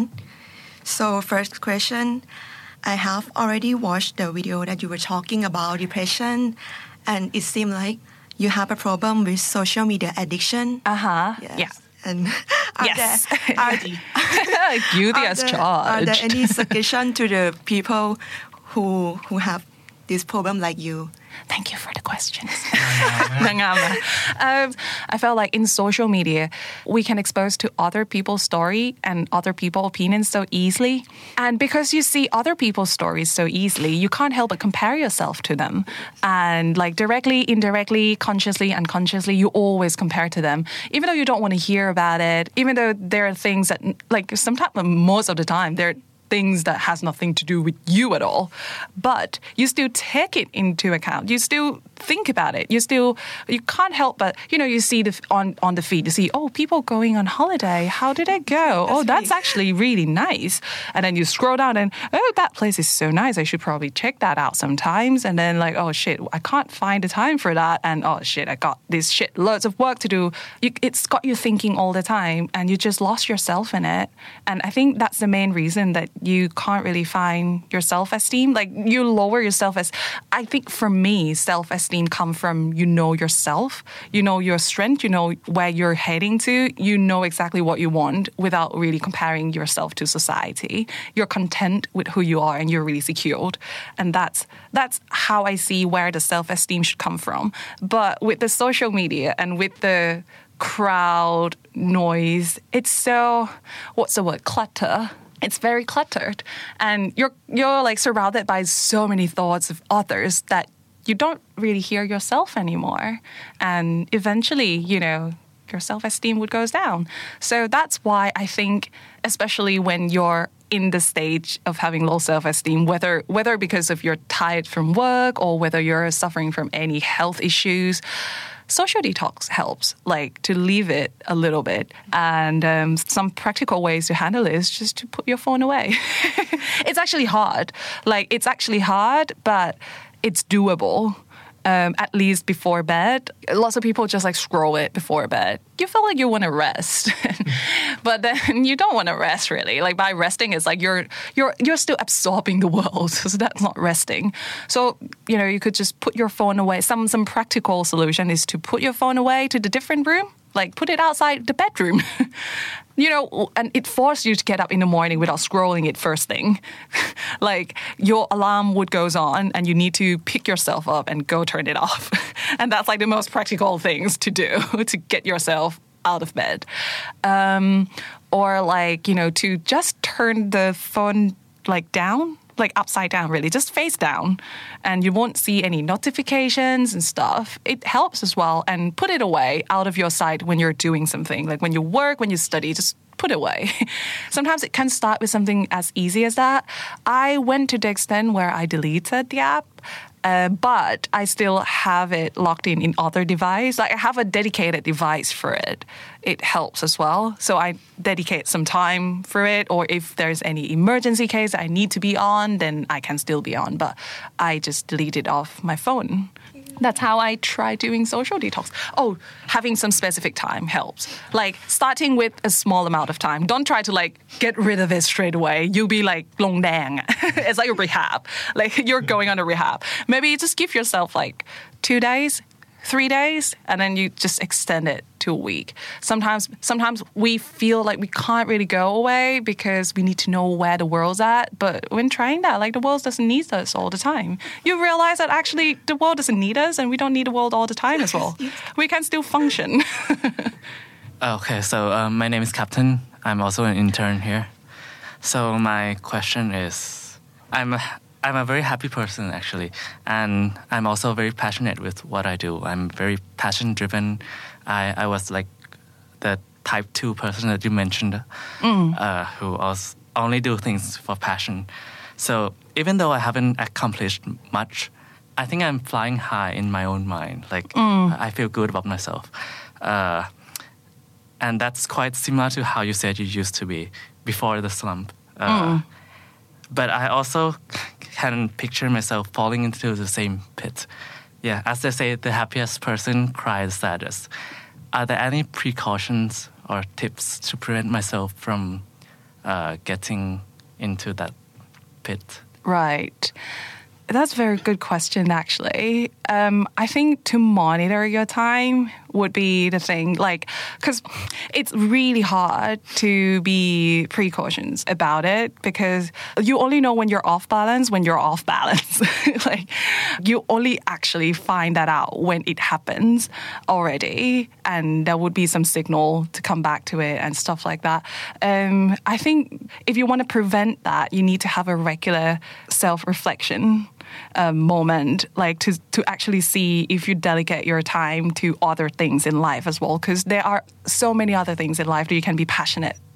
So first question, I have already watched the video that you were talking about depression, and it seemed like you have a problem with social media addiction. Uh-huh. Yes. Yeah. And are yes. there, are, Guilty as there, charged. Are there any suggestion to the people who who have this problem like you? Thank you for the questions. um, I felt like in social media, we can expose to other people's story and other people's opinions so easily. And because you see other people's stories so easily, you can't help but compare yourself to them. And like directly, indirectly, consciously, unconsciously, you always compare to them. Even though you don't want to hear about it, even though there are things that, like sometimes, most of the time, there things that has nothing to do with you at all, but you still take it into account. You still think about it. You still, you can't help but, you know, you see the on, on the feed, you see, oh, people going on holiday. How did it go? That's oh, that's really... actually really nice. And then you scroll down and, oh, that place is so nice. I should probably check that out sometimes. And then like, oh shit, I can't find the time for that. And oh shit, I got this shit, loads of work to do. You, it's got you thinking all the time and you just lost yourself in it. And I think that's the main reason that you can't really find your self-esteem. Like you lower your self-esteem. I think for me, self-esteem comes from you know yourself, you know your strength, you know where you're heading to, you know exactly what you want without really comparing yourself to society. You're content with who you are and you're really secured. And that's that's how I see where the self-esteem should come from. But with the social media and with the crowd noise, it's so, what's the word, clutter. It's very cluttered. And you're you're like surrounded by so many thoughts of others that you don't really hear yourself anymore. And eventually, you know, your self-esteem would go down. So that's why I think, especially when you're in the stage of having low self-esteem, whether whether because of you're tired from work or whether you're suffering from any health issues, social detox helps, like to leave it a little bit. And um, some practical ways to handle it is just to put your phone away. It's actually hard. Like it's actually hard, but it's doable. Um, at least before bed. Lots of people just like scroll it before bed. You feel like you want to rest, but then you don't want to rest really. Like by resting, it's like you're you're you're still absorbing the world, so that's not resting. So you know you could just put your phone away. Some some practical solution is to put your phone away to the different room. Like put it outside the bedroom. You know, and it forces you to get up in the morning without scrolling it first thing. Like your alarm would goes on and you need to pick yourself up and go turn it off. And that's like the most practical things to do to get yourself out of bed. Um, or like, you know, to just turn the phone like down. Like upside down, really, just face down, and you won't see any notifications and stuff. It helps as well, and put it away out of your sight when you're doing something. Like when you work, when you study, just put it away. Sometimes it can start with something as easy as that. I went to the extent where I deleted the app. Uh, but I still have it locked in in other device. Like I have a dedicated device for it. It helps as well. So I dedicate some time for it. Or if there's any emergency case I need to be on, then I can still be on. But I just delete it off my phone. That's how I try doing social detox. Oh, having some specific time helps. Like starting with a small amount of time. Don't try to like get rid of it straight away. You'll be like long dang. It's like a rehab. Like you're going on a rehab. Maybe you just give yourself like two days, three days, and then you just extend it to a week. Sometimes, sometimes we feel like we can't really go away because we need to know where the world's at. But when trying that, like the world doesn't need us all the time. You realize that actually the world doesn't need us, and we don't need the world all the time as well. We can still function. Okay, so um, my name is Captain. I'm also an intern here. So my question is, I'm a, I'm a very happy person actually, and I'm also very passionate with what I do. I'm very passion driven. I, I was like the type two person that you mentioned, mm. uh, who also only do things for passion. So even though I haven't accomplished much, I think I'm flying high in my own mind. Like mm. I feel good about myself. Uh, and that's quite similar to how you said you used to be before the slump. Uh, mm. But I also can picture myself falling into the same pit. Yeah, as they say, the happiest person cries saddest. Are there any precautions or tips to prevent myself from uh, getting into that pit? Right. That's a very good question, actually. Um, I think to monitor your time would be the thing, like, because it's really hard to be precautions about it because you only know when you're off balance when you're off balance. Like, you only actually find that out when it happens already, and there would be some signal to come back to it and stuff like that. Um, I think if you want to prevent that, you need to have a regular self-reflection Um, moment, like to to actually see if you delegate your time to other things in life as well, because there are so many other things in life that you can be passionate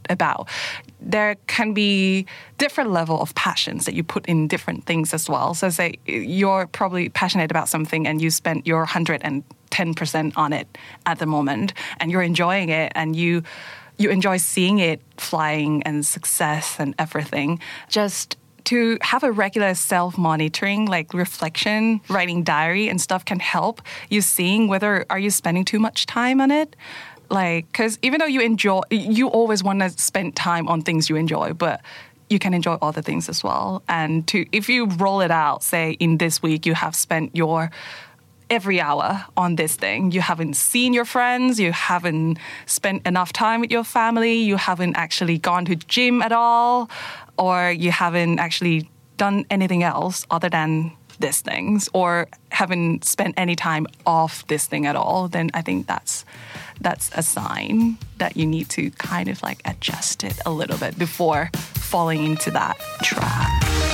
about. There can be different level of passions that you put in different things as well. So say you're probably passionate about something and you spent your one hundred ten percent on it at the moment and you're enjoying it and you you enjoy seeing it flying and success and everything. Just to have a regular self-monitoring, like reflection, writing diary and stuff can help you seeing whether are you spending too much time on it. Like, because even though you enjoy, you always want to spend time on things you enjoy, but you can enjoy other things as well. And to if you roll it out, say in this week you have spent your every hour on this thing. You haven't seen your friends, you haven't spent enough time with your family, you haven't actually gone to gym at all, or you haven't actually done anything else other than these things, or haven't spent any time off this thing at all, then I think that's that's a sign that you need to kind of like adjust it a little bit before falling into that trap.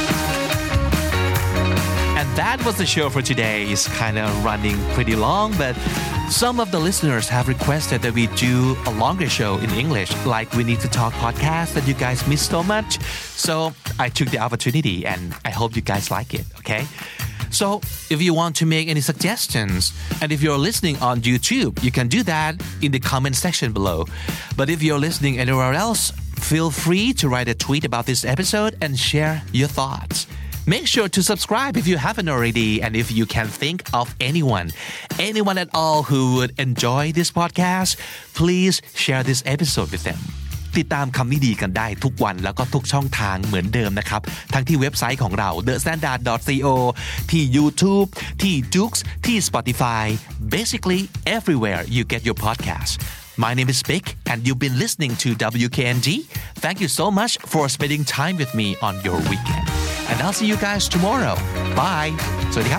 And that was the show for today. It's kind of running pretty long, but some of the listeners have requested that we do a longer show in English, like We Need to Talk podcast that you guys miss so much. So I took the opportunity and I hope you guys like it, okay? So if you want to make any suggestions, and if you're listening on YouTube, you can do that in the comment section below. But if you're listening anywhere else, feel free to write a tweet about this episode and share your thoughts. Make sure to subscribe if you haven't already, and if you can think of anyone, anyone at all who would enjoy this podcast, please share this episode with them. ติดตามคำนี้ดีกันได้ทุกวันแล้วก็ทุกช่องทางเหมือนเดิมนะครับทั้งที่เว็บไซต์ของเรา the standard dot co ที่ YouTube ที่ Joox ที่ Spotify basically everywhere you get your podcast. My name is Vic and you've been listening to W K N G. Thank you so much for spending time with me on your weekend. And I'll see you guys tomorrow. Bye. สวัสดีครับ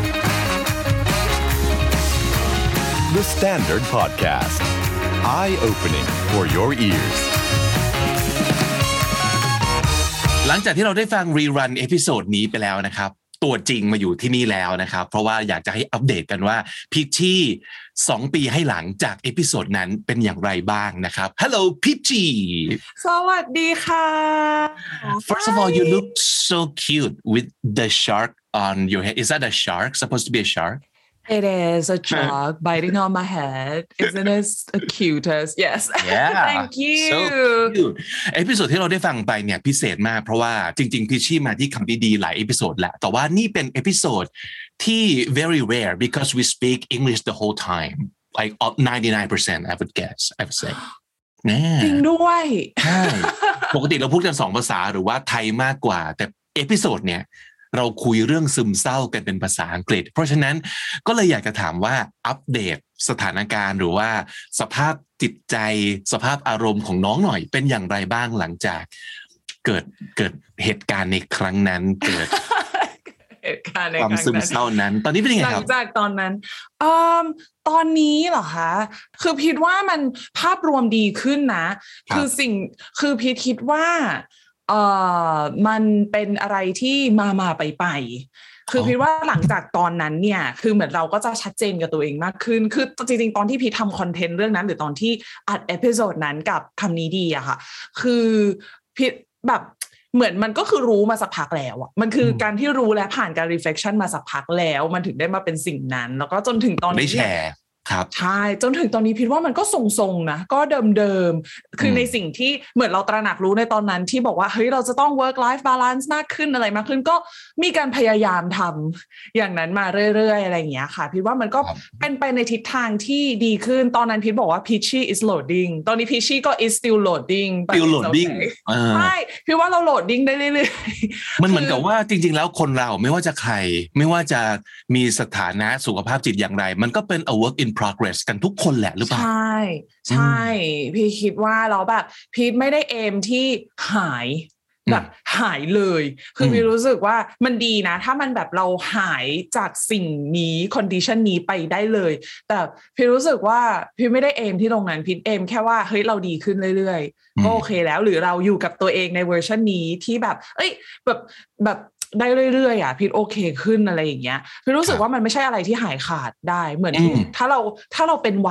The Standard Podcast. Eye-opening for your ears. หลังจากที่เราได้ฟังรีรันเอพิโซดนี้ไปแล้วนะครับตัวจริงมาอยู่ที่นี่แล้วนะครับเพราะว่าอยากจะให้อัปเดตกันว่าพิชชี่สองปีให้หลังจากเอพิโซดนั้นเป็นอย่างไรบ้างนะครับ Hello Pitchy สวัสดีค่ะ First of all you look so cute with the shark on your head. Is that a shark? Supposed to be a shark? It is a shark biting on my head. Isn't it the cutest? Yes. Yeah. Thank you. So cute. เอพิโซดที่เราได้ฟังไปเนี่ยพิเศษมากเพราะว่าจริงๆพิชชี่มาที่คำดีๆหลายเอพิโซดแหละแต่ว่านี่เป็นเอพิโซดที่ very rare because we speak English the whole time. Like ninety-nine percent I would guess. I would say. แน่จริงด้วยใช่ปกติเราพูดกันสองภาษาหรือว่าไทยมากกว่าแต่เอพิโซดเนี่ยเราคุยเรื่องซึมเศร้ากันเป็นภาษาอังกฤษเพราะฉะนั้นก็เลยอยากจะถามว่าอัปเดตสถานการณ์หรือว่าสภาพจิตใจสภาพอารมณ์ของน้องหน่อยเป็นอย่างไรบ้างหลังจากเกิดเกิดเหตุการณ์ในครั้งนั้นเกิดความซึมเศร้านั้นตอนนี้เป็นยังไงครับหลังจากตอนนั้นเอ่อตอนนี้เหรอคะคือพีทว่ามันภาพรวมดีขึ้นนะคือสิ่งคือพีทคิดว่าเอ่อมันเป็นอะไรที่มามาไปไปคือพีทว่าหลังจากตอนนั้นเนี่ยคือเหมือนเราก็จะชัดเจนกับตัวเองมากขึ้นคือจริงๆตอนที่พีททำคอนเทนต์เรื่องนั้นหรือตอนที่อัดเอพิโซดนั้นกับคำนี้ดีอะค่ะคือพีทแบบเหมือนมันก็คือรู้มาสักพักแล้วอ่ะมันคือการที่รู้และผ่านการ reflection มาสักพักแล้วมันถึงได้มาเป็นสิ่งนั้นแล้วก็จนถึงตอนนี้ได้แชร์ครับใช่จนถึงตอนนี้พิดว่ามันก็ทรงๆนะก็เดิมๆคือในสิ่งที่เหมือนเราตระหนักรู้ในตอนนั้นที่บอกว่าเฮ้ยเราจะต้อง work life balance มากขึ้นอะไรมากขึ้นก็มีการพยายามทำอย่างนั้นมาเรื่อยๆอะไรอย่างเงี้ยค่ะพิดว่ามันก็เป็นไปในทิศทางที่ดีขึ้นตอนนั้นพิดบอกว่า Peachy is loading ตอนนี้ Peachy ก็ is still loading still loading ใช่พิดว่าเรา loading ได้เรื่อยๆมันเหมือนกับว่าจริงๆแล้วคนเราไม่ว่าจะใครไม่ว่าจะมีสถานะสุขภาพจิตอย่างไรมันก็เป็น a work in progress กันทุกคนแหละหรือเปล่าใช่ใช่พี่คิดว่าเราแบบพีทไม่ได้เอมที่หายแบบหายเลยคือพี่รู้สึกว่ามันดีนะถ้ามันแบบเราหายจากสิ่งนี้คอนดิชันนี้ไปได้เลยแต่พี่รู้สึกว่าพี่ไม่ได้เอมที่ตรงนั้นพี่เอมแค่ว่าเฮ้ยเราดีขึ้นเรื่อยๆก็โอเคแล้วหรือเราอยู่กับตัวเองในเวอร์ชันนี้ที่แบบเอ้ยแบบแบบได้เรื่อยๆอ่ะพี่โอเคขึ้นอะไรอย่างเงี้ยพี่รู้สึกว่ามันไม่ใช่อะไรที่หายขาดได้เหมือนถ้าเราถ้าเราเป็นหวัด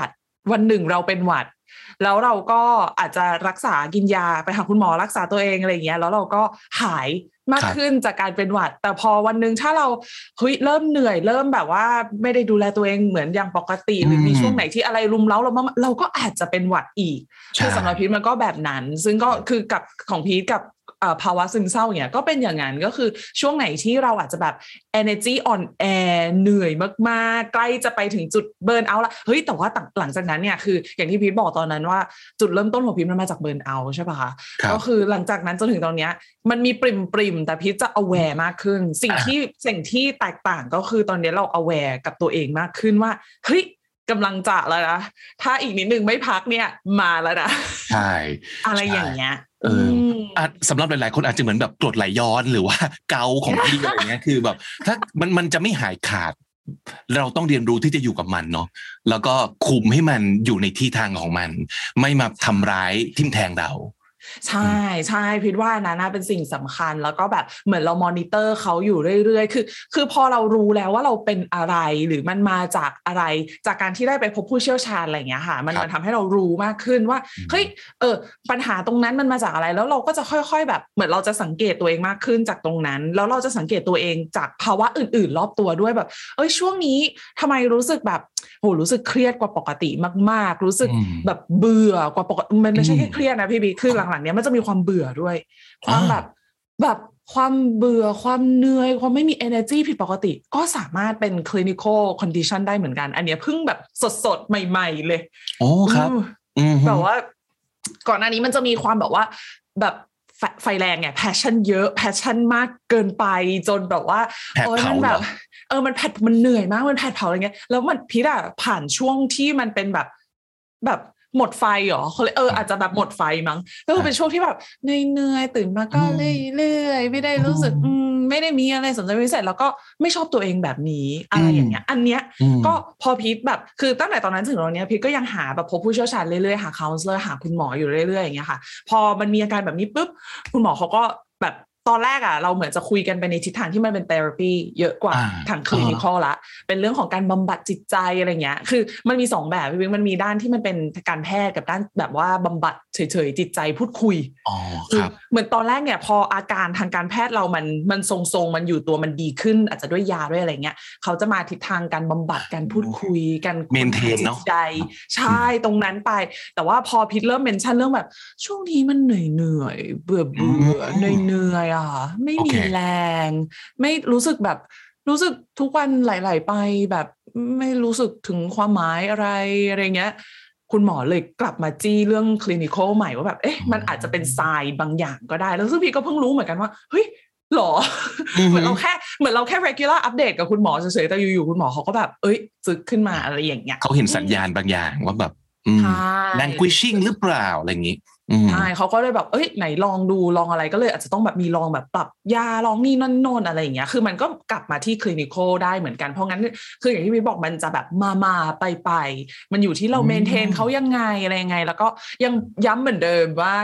วันหนึ่งเราเป็นหวัดแล้วเราก็อาจจะรักษากินยาไปหาคุณหมอรักษาตัวเองอะไรอย่างเงี้ยแล้วเราก็หายมากขึ้นจากการเป็นหวัดแต่พอวันนึงถ้าเราเฮ้ยเริ่มเหนื่อยเริ่มแบบว่าไม่ได้ดูแลตัวเองเหมือนอย่างปกติหรือมีช่วงไหนที่อะไรรุมเร้าเราเราก็อาจจะเป็นหวัดอีกคือสำหรับพีทมันก็แบบนั้นซึ่งก็คือกับของพีทกับภาวะซึมเศร้าเนี่ยก็เป็นอย่างนั้นก็คือช่วงไหนที่เราอาจจะแบบ energy on air เหนื่อยมากๆใกล้จะไปถึงจุดเบิร์นเอาท์ละเฮ้ยแต่ว่าหลังจากนั้นเนี่ยคืออย่างที่พีทบอกตอนนั้นว่าจุดเริ่มต้นของพีทมันมาจากเบิร์นเอาท์ใช่ป่ะคะก็คือหลังจากนั้นจนถึงตอนเนี้ยมันมีปริมปริมแต่พีทจะ aware มากขึ้นสิ่งที่สิ่งที่แตกต่างก็คือตอนนี้เรา aware กับตัวเองมากขึ้นว่าเฮ้ยกำลังจะแล้วนะถ้าอีกนิดนึงไม่พักเนี่ยมาแล้วนะใช่อะไรอย่างเงี้ยเออสำหรับหลายๆคนอาจจะเหมือนแบบกรดไหลย้อนหรือว่าเกาของพี่อะไรเงี้ยคือแบบถ้ามันมันจะไม่หายขาดเราต้องเรียนรู้ที่จะอยู่กับมันเนาะแล้วก็คุมให้มันอยู่ในที่ทางของมันไม่มาทำร้ายทิ่มแทงเราใช่ใช่พิดว่านะน่าเป็นสิ่งสำคัญแล้วก็แบบเหมือนเรามอนิเตอร์เขาอยู่เรื่อยๆคือคือพอเรารู้แล้วว่าเราเป็นอะไรหรือมันมาจากอะไรจากการที่ได้ไปพบผู้เชี่ยวชาญอะไรอย่างเงี้ยค่ะมันมันทำให้เรารู้มากขึ้นว่าเฮ้ยเออปัญหาตรงนั้นมันมาจากอะไรแล้วเราก็จะค่อยๆแบบเหมือนเราจะสังเกตตัวเองมากขึ้นจากตรงนั้นแล้วเราจะสังเกตตัวเองจากภาวะอื่นๆรอบตัวด้วยแบบเอ้ยช่วงนี้ทำไมรู้สึกแบบโหรู้สึกเครียดกว่าปกติมากๆรู้สึกแบบเบื่อกว่าปกติมันไม่ใช่แค่เครียดนะพี่บีคือหลังๆเนี้ยมันจะมีความเบื่อด้วยความแบบแบบความเบื่อความเหนื่อยความไม่มี energy ผิดปกติก็สามารถเป็น clinical condition ได้เหมือนกันอันเนี้ยเพิ่งแบบสดๆใหม่ๆเลยโอ้ครับแบบว่าก่อนหน้านี้มันจะมีความแบบว่าแบบไฟแรงไง passion เยอะ passion มากเกินไปจนแบบว่าโอ้ยมันแบบเออมันแผดมันเหนื่อยมากมันแผดเผาอะไรเงี้ยแล้วมันพีทอะผ่านช่วงที่มันเป็นแบบแบบหมดไฟเหรอเขาเลยเอออาจจะแบบหมดไฟมั้งก็คือเป็นช่วงที่แบบเหนื่อยๆตื่นมาก็เรื่อยๆไม่ได้รู้สึกไม่ได้มีอะไรสนใจพิเศษแล้วก็ไม่ชอบตัวเองแบบนี้อะไรอย่างเงี้ยอันเนี้ยก็พอพีทแบบคือตั้งแต่ตอนนั้นถึงตอนนี้พีทก็ยังหาแบบพบผู้เชี่ยวชาญเรื่อยๆหาคาวน์เซอร์หาคุณหมออยู่เรื่อยๆอย่างเงี้ยค่ะพอมันมีอาการแบบนี้ปุ๊บคุณหมอเขาก็แบบตอนแรกอ่ะเราเหมือนจะคุยกันไปในทิศทางที่มันเป็นเทอราปีเยอะกว่าทางคลินิคอลละเป็นเรื่องของการบำบัดจิตใจอะไรเงี้ยคือมันมีสองแบบพี่มันมีด้านที่มันเป็นการแพทย์กับด้านแบบว่าบำบัดเฉยๆจิตใจพูดคุยอ๋อครับเหมือนตอนแรกเนี่ยพออาการทางการแพทย์เรามันมันทรงๆมันอยู่ตัวมันดีขึ้นอาจจะด้วยยาด้วยอะไรเงี้ยเขาจะมาทิศทางการบำบัดการพูดคุยการเมนเทนเนาะใจใช่ตรงนั้นไปแต่ว่าพอพิทเริ่มเมนชั่นเรื่องแบบช่วงนี้มันเหนื่อยๆเบื่อเบื่อเหนื่อยๆอ่ะไม่มีแรงไม่รู้สึกแบบรู้สึกทุกวันไหลๆไปแบบไม่รู้สึกถึงความหมายอะไรอะไรเงี้ยคุณหมอเลยกลับมาจี้เรื่องคลินิคอลใหม่ว่าแบบเอ๊ะมันอาจจะเป็นไซน์บางอย่างก็ได้แล้วซึ่งพี่ก็เพิ่งรู้เหมือนกันว่าเฮ้ยหรอ เหมือนเราแค่เหมือนเราแค่ regular update กับคุณหมอเฉยๆแต่อยู่ๆคุณหมอเขาก็แบบเอ้ยซึกขึ้นมาอะไรอย่างเงี้ยเขาเห็นสัญญาณบางอย่างว่าแบบlanguishing หรือเปล่าอะไรอย่างงี้ใช่เขาก็เลยแบบเอ้ยไหนลองดูลองอะไรก็เลยอาจจะต้องแบบมีลองแบบปรับยาลองนี่นั่นโน่นอะไรอย่างเงี้ยคือมันก็กลับมาที่คลินิคอลได้เหมือนกันเพราะงั้นคืออย่างที่พี่บอกมันจะแบบมามาไปไปมันอยู่ที่เราเมนเทนเขายังไงอะไรยังไงแล้วก็ยังย้ำเหมือนเดิมว่า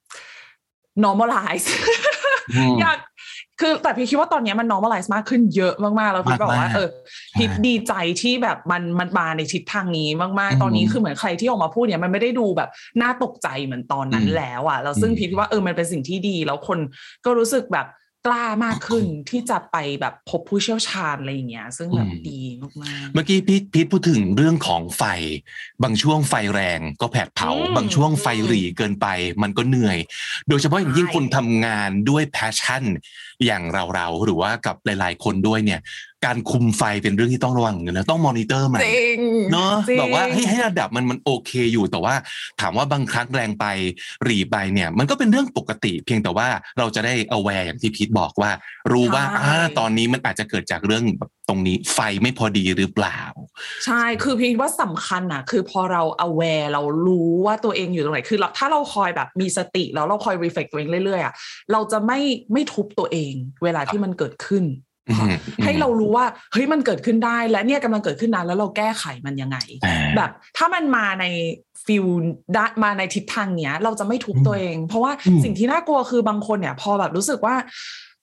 normalize อยากคือแต่พี่คิดว่าตอนนี้มัน normalize มากขึ้นเยอะมากๆแล้วพี่บอกว่าเออพี่ดีใจที่แบบมันมันมาในทิศทางนี้มากๆตอนนี้คือเหมือนใครที่ออกมาพูดเนี่ยมันไม่ได้ดูแบบน่าตกใจเหมือนตอนนั้นแล้วอ่ะแล้วซึ่งพี่คิดว่าเออมันเป็นสิ่งที่ดีแล้วคนก็รู้สึกแบบกล้ามากขึ้นที่จะไปแบบพบผู้เชี่ยวชาญอะไรอย่างเงี้ยซึ่งแบบดีมากๆเมื่อกี้พี่พีทพูดถึงเรื่องของไฟบางช่วงไฟแรงก็แผดเผาบางช่วงไฟหรี่เกินไปมันก็เหนื่อยโดยเฉพาะอย่างยิ่งคนทำงานด้วยแพชชั่นอย่างเราๆหรือว่ากับหลายๆคนด้วยเนี่ยการคุมไฟเป็นเรื่องที่ต้องระวังนะต้องมอนิเตอร์มันเนาะแบบว่าให้ให้ระดับมันมันโอเคอยู่แต่ว่าถามว่าบางครั้งแรงไปหรี่ไปเนี่ยมันก็เป็นเรื่องปกติเพียงแต่ว่าเราจะได้ aware อย่างที่พีทบอกว่ารู้ว่าอ่าตอนนี้มันอาจจะเกิดจากเรื่องแบบตรงนี้ไฟไม่พอดีหรือเปล่าใช่คือพีทว่าสำคัญอ่ะคือพอเรา aware เรารู้ว่าตัวเองอยู่ตรงไหนคือถ้าเราคอยแบบมีสติแล้วเราคอย reflect ตัวเองเรื่อยๆอ่ะเราจะไม่ไม่ทุบตัวเองเวลาที่มันเกิดขึ้นให้เรารู้ว่าเฮ้ยมันเกิดขึ้นได้และเนี่ยกำลังเกิดขึ้นนะแล้วเราแก้ไขมันยังไงแบบถ้ามันมาในฟิลมาในทิศทางเนี้ยเราจะไม่ทุบตัวเองเพราะว่าสิ่งที่น่ากลัวคือบางคนเนี่ยพอแบบรู้สึกว่า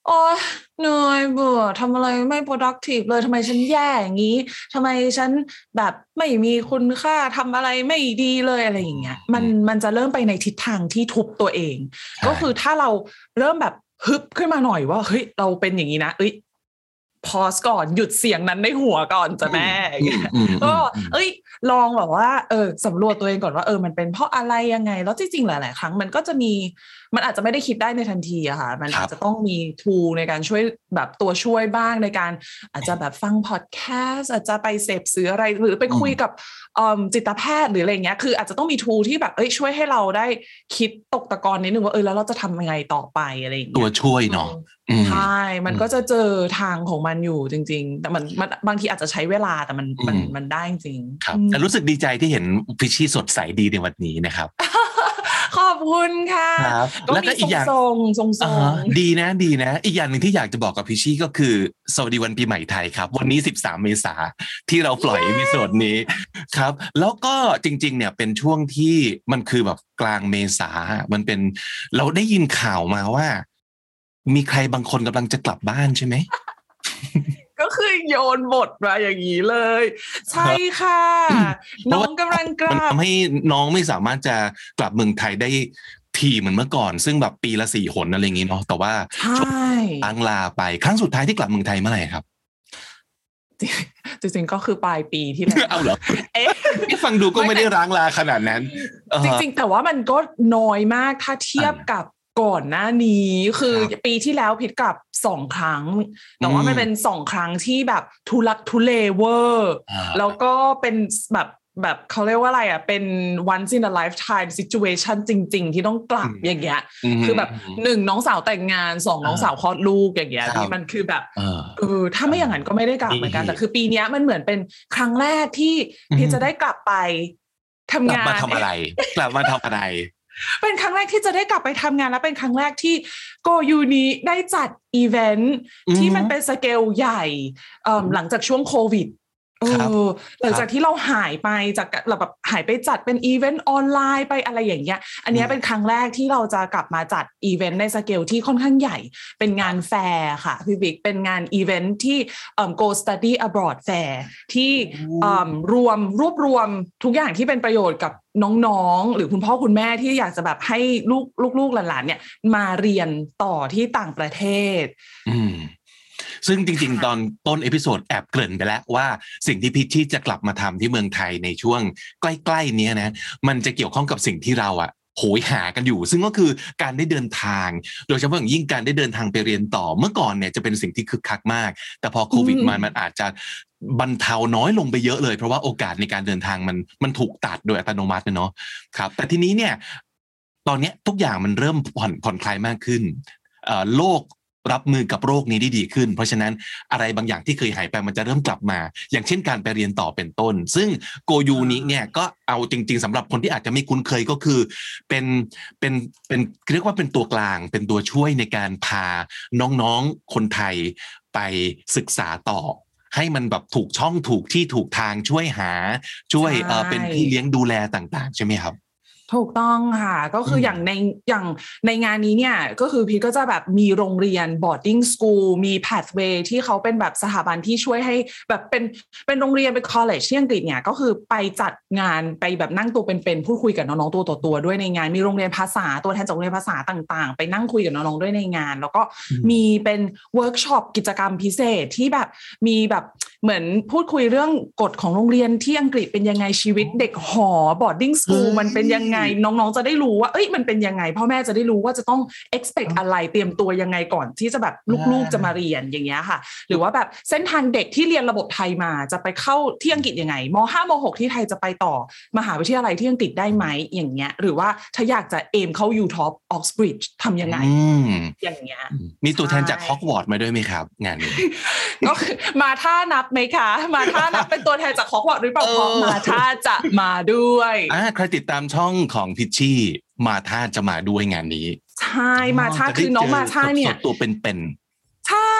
โอ๊ยเหนื่อยเบื่อทำอะไรไม่ productive เลยทำไมฉันแย่อย่างนี้ทำไมฉันแบบไม่มีคุณค่าทำอะไรไม่ดีเลยอะไรอย่างเงี้ยมันมันจะเริ่มไปในทิศทางที่ทุบตัวเองก็คือถ้าเราเริ่มแบบฮึบขึ้นมาหน่อยว่าเฮ้ยเราเป็นอย่างนี้นะเอ้ยพอสก่อนหยุดเสียงนั้นในหัวก่อนจ้ะแม่ก็เอ้ยลองแบบว่าเออสำรวจตัวเองก่อนว่าเออมันเป็นเพราะอะไรยังไงแล้วจริงๆหลายๆครั้งมันก็จะมีมันอาจจะไม่ได้คิดได้ในทันทีอะค่ะมันอาจจะต้องมี tool ในการช่วยแบบตัวช่วยบ้างในการอาจจะแบบฟังพอดแคสต์อาจจะไปเสพสื่ออะไรหรือไปคุยกับจิตแพทย์หรืออะไรเงี้ยคืออาจจะต้องมี tool ที่แบบเอ้ยช่วยให้เราได้คิดตกตะกอนนิดนึงว่าเออแล้วเราจะทำยังไงต่อไปอะไรอย่างเงี้ยตัวช่วยเนาะใช่มันก็จะเจอทางของมันอยู่จริงๆแต่มันมันบางทีอาจจะใช้เวลาแต่มันมันมันได้จริงครับแต่รู้สึกดีใจที่เห็นพิชชี่สดใสดีในวันนี้นะครับขอบคุณค่ะแล้วก็อีกอย่างทรงทรงทรงดีนะดีนะอีกอย่างหนึ่งที่อยากจะบอกกับพิชชี่ก็คือสวัสดีวันปีใหม่ไทยครับวันนี้สิบสามเมษาที่เราปล่อยเอพิโซดนี้ครับแล้วก็จริงๆเนี่ยเป็นช่วงที่มันคือแบบกลางเมษามันเป็นเราได้ยินข่าวมาว่ามีใครบางคนกำลังจะกลับบ้านใช่ไหมก็คือโยนบทมาอย่างนี้เลยใช่ค่ะน้องกำลังกลับมันทำให้น้องไม่สามารถจะกลับเมืองไทยได้ทีเหมือนเมื่อก่อนซึ่งแบบปีละสี่หนอะไรอย่างนี้เนาะแต่ว่าช่วงล้างลาไปครั้งสุดท้ายที่กลับเมืองไทยเมื่อไหร่ครับจริงๆก็คือปลายปีที่แล้วเอาเหรอเอ๊ะฟังดูก็ไม่ได้ล้างลาขนาดนั้นจริงๆแต่ว่ามันก็น้อยมากถ้าเทียบกับก่อนหน้านี้คือปีที่แล้วพิดกลับสองครั้งแต่ว่ามันเป็นสองครั้งที่แบบทุลักทุเลเวอร์แล้วก็เป็นแบบแบบเขาเรียกว่าอะไรอ่ะเป็น once in a lifetime situation จริงๆที่ต้องกลับอย่างเงี้ยคือแบบหนึ่งน้องสาวแต่งงานสองน้องสาวคลอดลูกอย่างเงี้ยที่มันคือแบบเออถ้าไม่อย่างนั้นก็ไม่ได้กลับเหมือนกันแต่คือปีนี้มันเหมือนเป็นครั้งแรกที่พี่จะได้กลับไปทำงานกลับมาทำอะไรกลับมาทำอะไรเป็นครั้งแรกที่จะได้กลับไปทำงานและเป็นครั้งแรกที่โกยูนิได้จัดอีเวนท์ที่มันเป็นสเกลใหญ่หลังจากช่วงโควิดเออหลังจากที่เราหายไปจากเราแบบหายไปจัดเป็นอีเวนต์ออนไลน์ไปอะไรอย่างเงี้ยอันนี้เป็นครั้งแรกที่เราจะกลับมาจัดอีเวนต์ในสเกลที่ค่อนข้างใหญ่เป็นงานแฟร์ค่ะพี่บิ๊กเป็นงานอีเวนต์ที่ Go Study Abroad Fair ที่รวมรวบรวมทุกอย่างที่เป็นประโยชน์กับน้องๆหรือคุณพ่อคุณแม่ที่อยากจะแบบให้ลูกลูกๆหลานๆเนี่ยมาเรียนต่อที่ต่างประเทศอืมซึ่งจริงๆตอนต้นเอพิโซดแอบเกริ่นไปแล้วว่าสิ่งที่พิชชี่จะกลับมาทำที่เมืองไทยในช่วงใกล้ๆนี้นะมันจะเกี่ยวข้องกับสิ่งที่เราอะโหยหากันอยู่ซึ่งก็คือการได้เดินทางโดยเฉพาะอย่างยิ่งการได้เดินทางไปเรียนต่อเมื่อก่อนเนี่ยจะเป็นสิ่งที่คึกคักมากแต่พอโควิดมามันอาจจะบรรเทาน้อยลงไปเยอะเลยเพราะว่าโอกาสในการเดินทางมันมันถูกตัดโดยอัตโนมัติเนาะครับแต่ทีนี้เนี่ยตอนนี้ทุกอย่างมันเริ่มผ่อนผ่อนคลายมากขึ้นโลกรับมือกับโรคนี้ได้ดีขึ้นเพราะฉะนั้นอะไรบางอย่างที่เคยหายไปมันจะเริ่มกลับมาอย่างเช่นการไปเรียนต่อเป็นต้นซึ่งโกยูนิเนี่ยก็เอาจริงๆสำหรับคนที่อาจจะไม่คุ้นเคยก็คือเป็นเป็นเป็นเรียกว่าเป็นตัวกลางเป็นตัวช่วยในการพาน้องๆคนไทยไปศึกษาต่อให้มันแบบถูกช่องถูกที่ถูกทางช่วยหาช่วยเอ่อเป็นพี่เลี้ยงดูแลต่างๆใช่ไหมครับถูกต้องค่ะก็คืออย่างในอย่างในงานนี้เนี่ยก็คือพีทก็จะแบบมีโรงเรียน boarding school มี pathway ที่เขาเป็นแบบสถาบันที่ช่วยให้แบบเป็นเป็นโรงเรียนเป็น college ที่อังกฤษเนี่ยก็คือไปจัดงานไปแบบนั่งตัวเป็นๆพูดคุยกับน้องๆตัวต่อตัวด้วยในงานมีโรงเรียนภาษาตัวแทนจากโรงเรียนภาษาต่างๆไปนั่งคุยกับน้องๆด้วยในงานแล้วก็มีเป็นเวิร์กช็อปกิจกรรมพิเศษที่แบบมีแบบเหมือนพูดคุยเรื่องกฎของโรงเรียนที่อังกฤษเป็นยังไงชีวิตเด็กหอ boarding school มันเป็นยังไงน้องๆจะได้รู้ว่าเอ้ยมันเป็นยังไงพ่อแม่จะได้รู้ว่าจะต้อง expect อะไรเตรียมตัวยังไงก่อนที่จะแบบลูกๆจะมาเรียนอย่างเงี้ยค่ะหรือว่าแบบเส้นทางเด็กที่เรียนระบบไทยมาจะไปเข้าที่อังกฤษยังไงม.ห้า ม.หก ที่ไทยจะไปต่อมหาวิทยาลัยที่อังกฤษได้ไหมอย่างเงี้ยหรือว่าถ้าอยากจะเอมเข้า ยู ท็อป Oxbridge ทำยังไงอย่างเงี้ยมีตัวแทนจากฮอกวอตส์มาด้วยไหมครับงานนี้ก็มาท่านับไหมคะมาท่านับเป็นตัวแทนจากฮอกวอตส์หรือเปล่ามาท่าจะมาด้วยอ่าใครติดตามช่องของพิชชี่มาท่าจะมาด้วยงานนี้ใช่มาท่าคือน้องมาท่าเนี่ยตัวเป็นๆใช่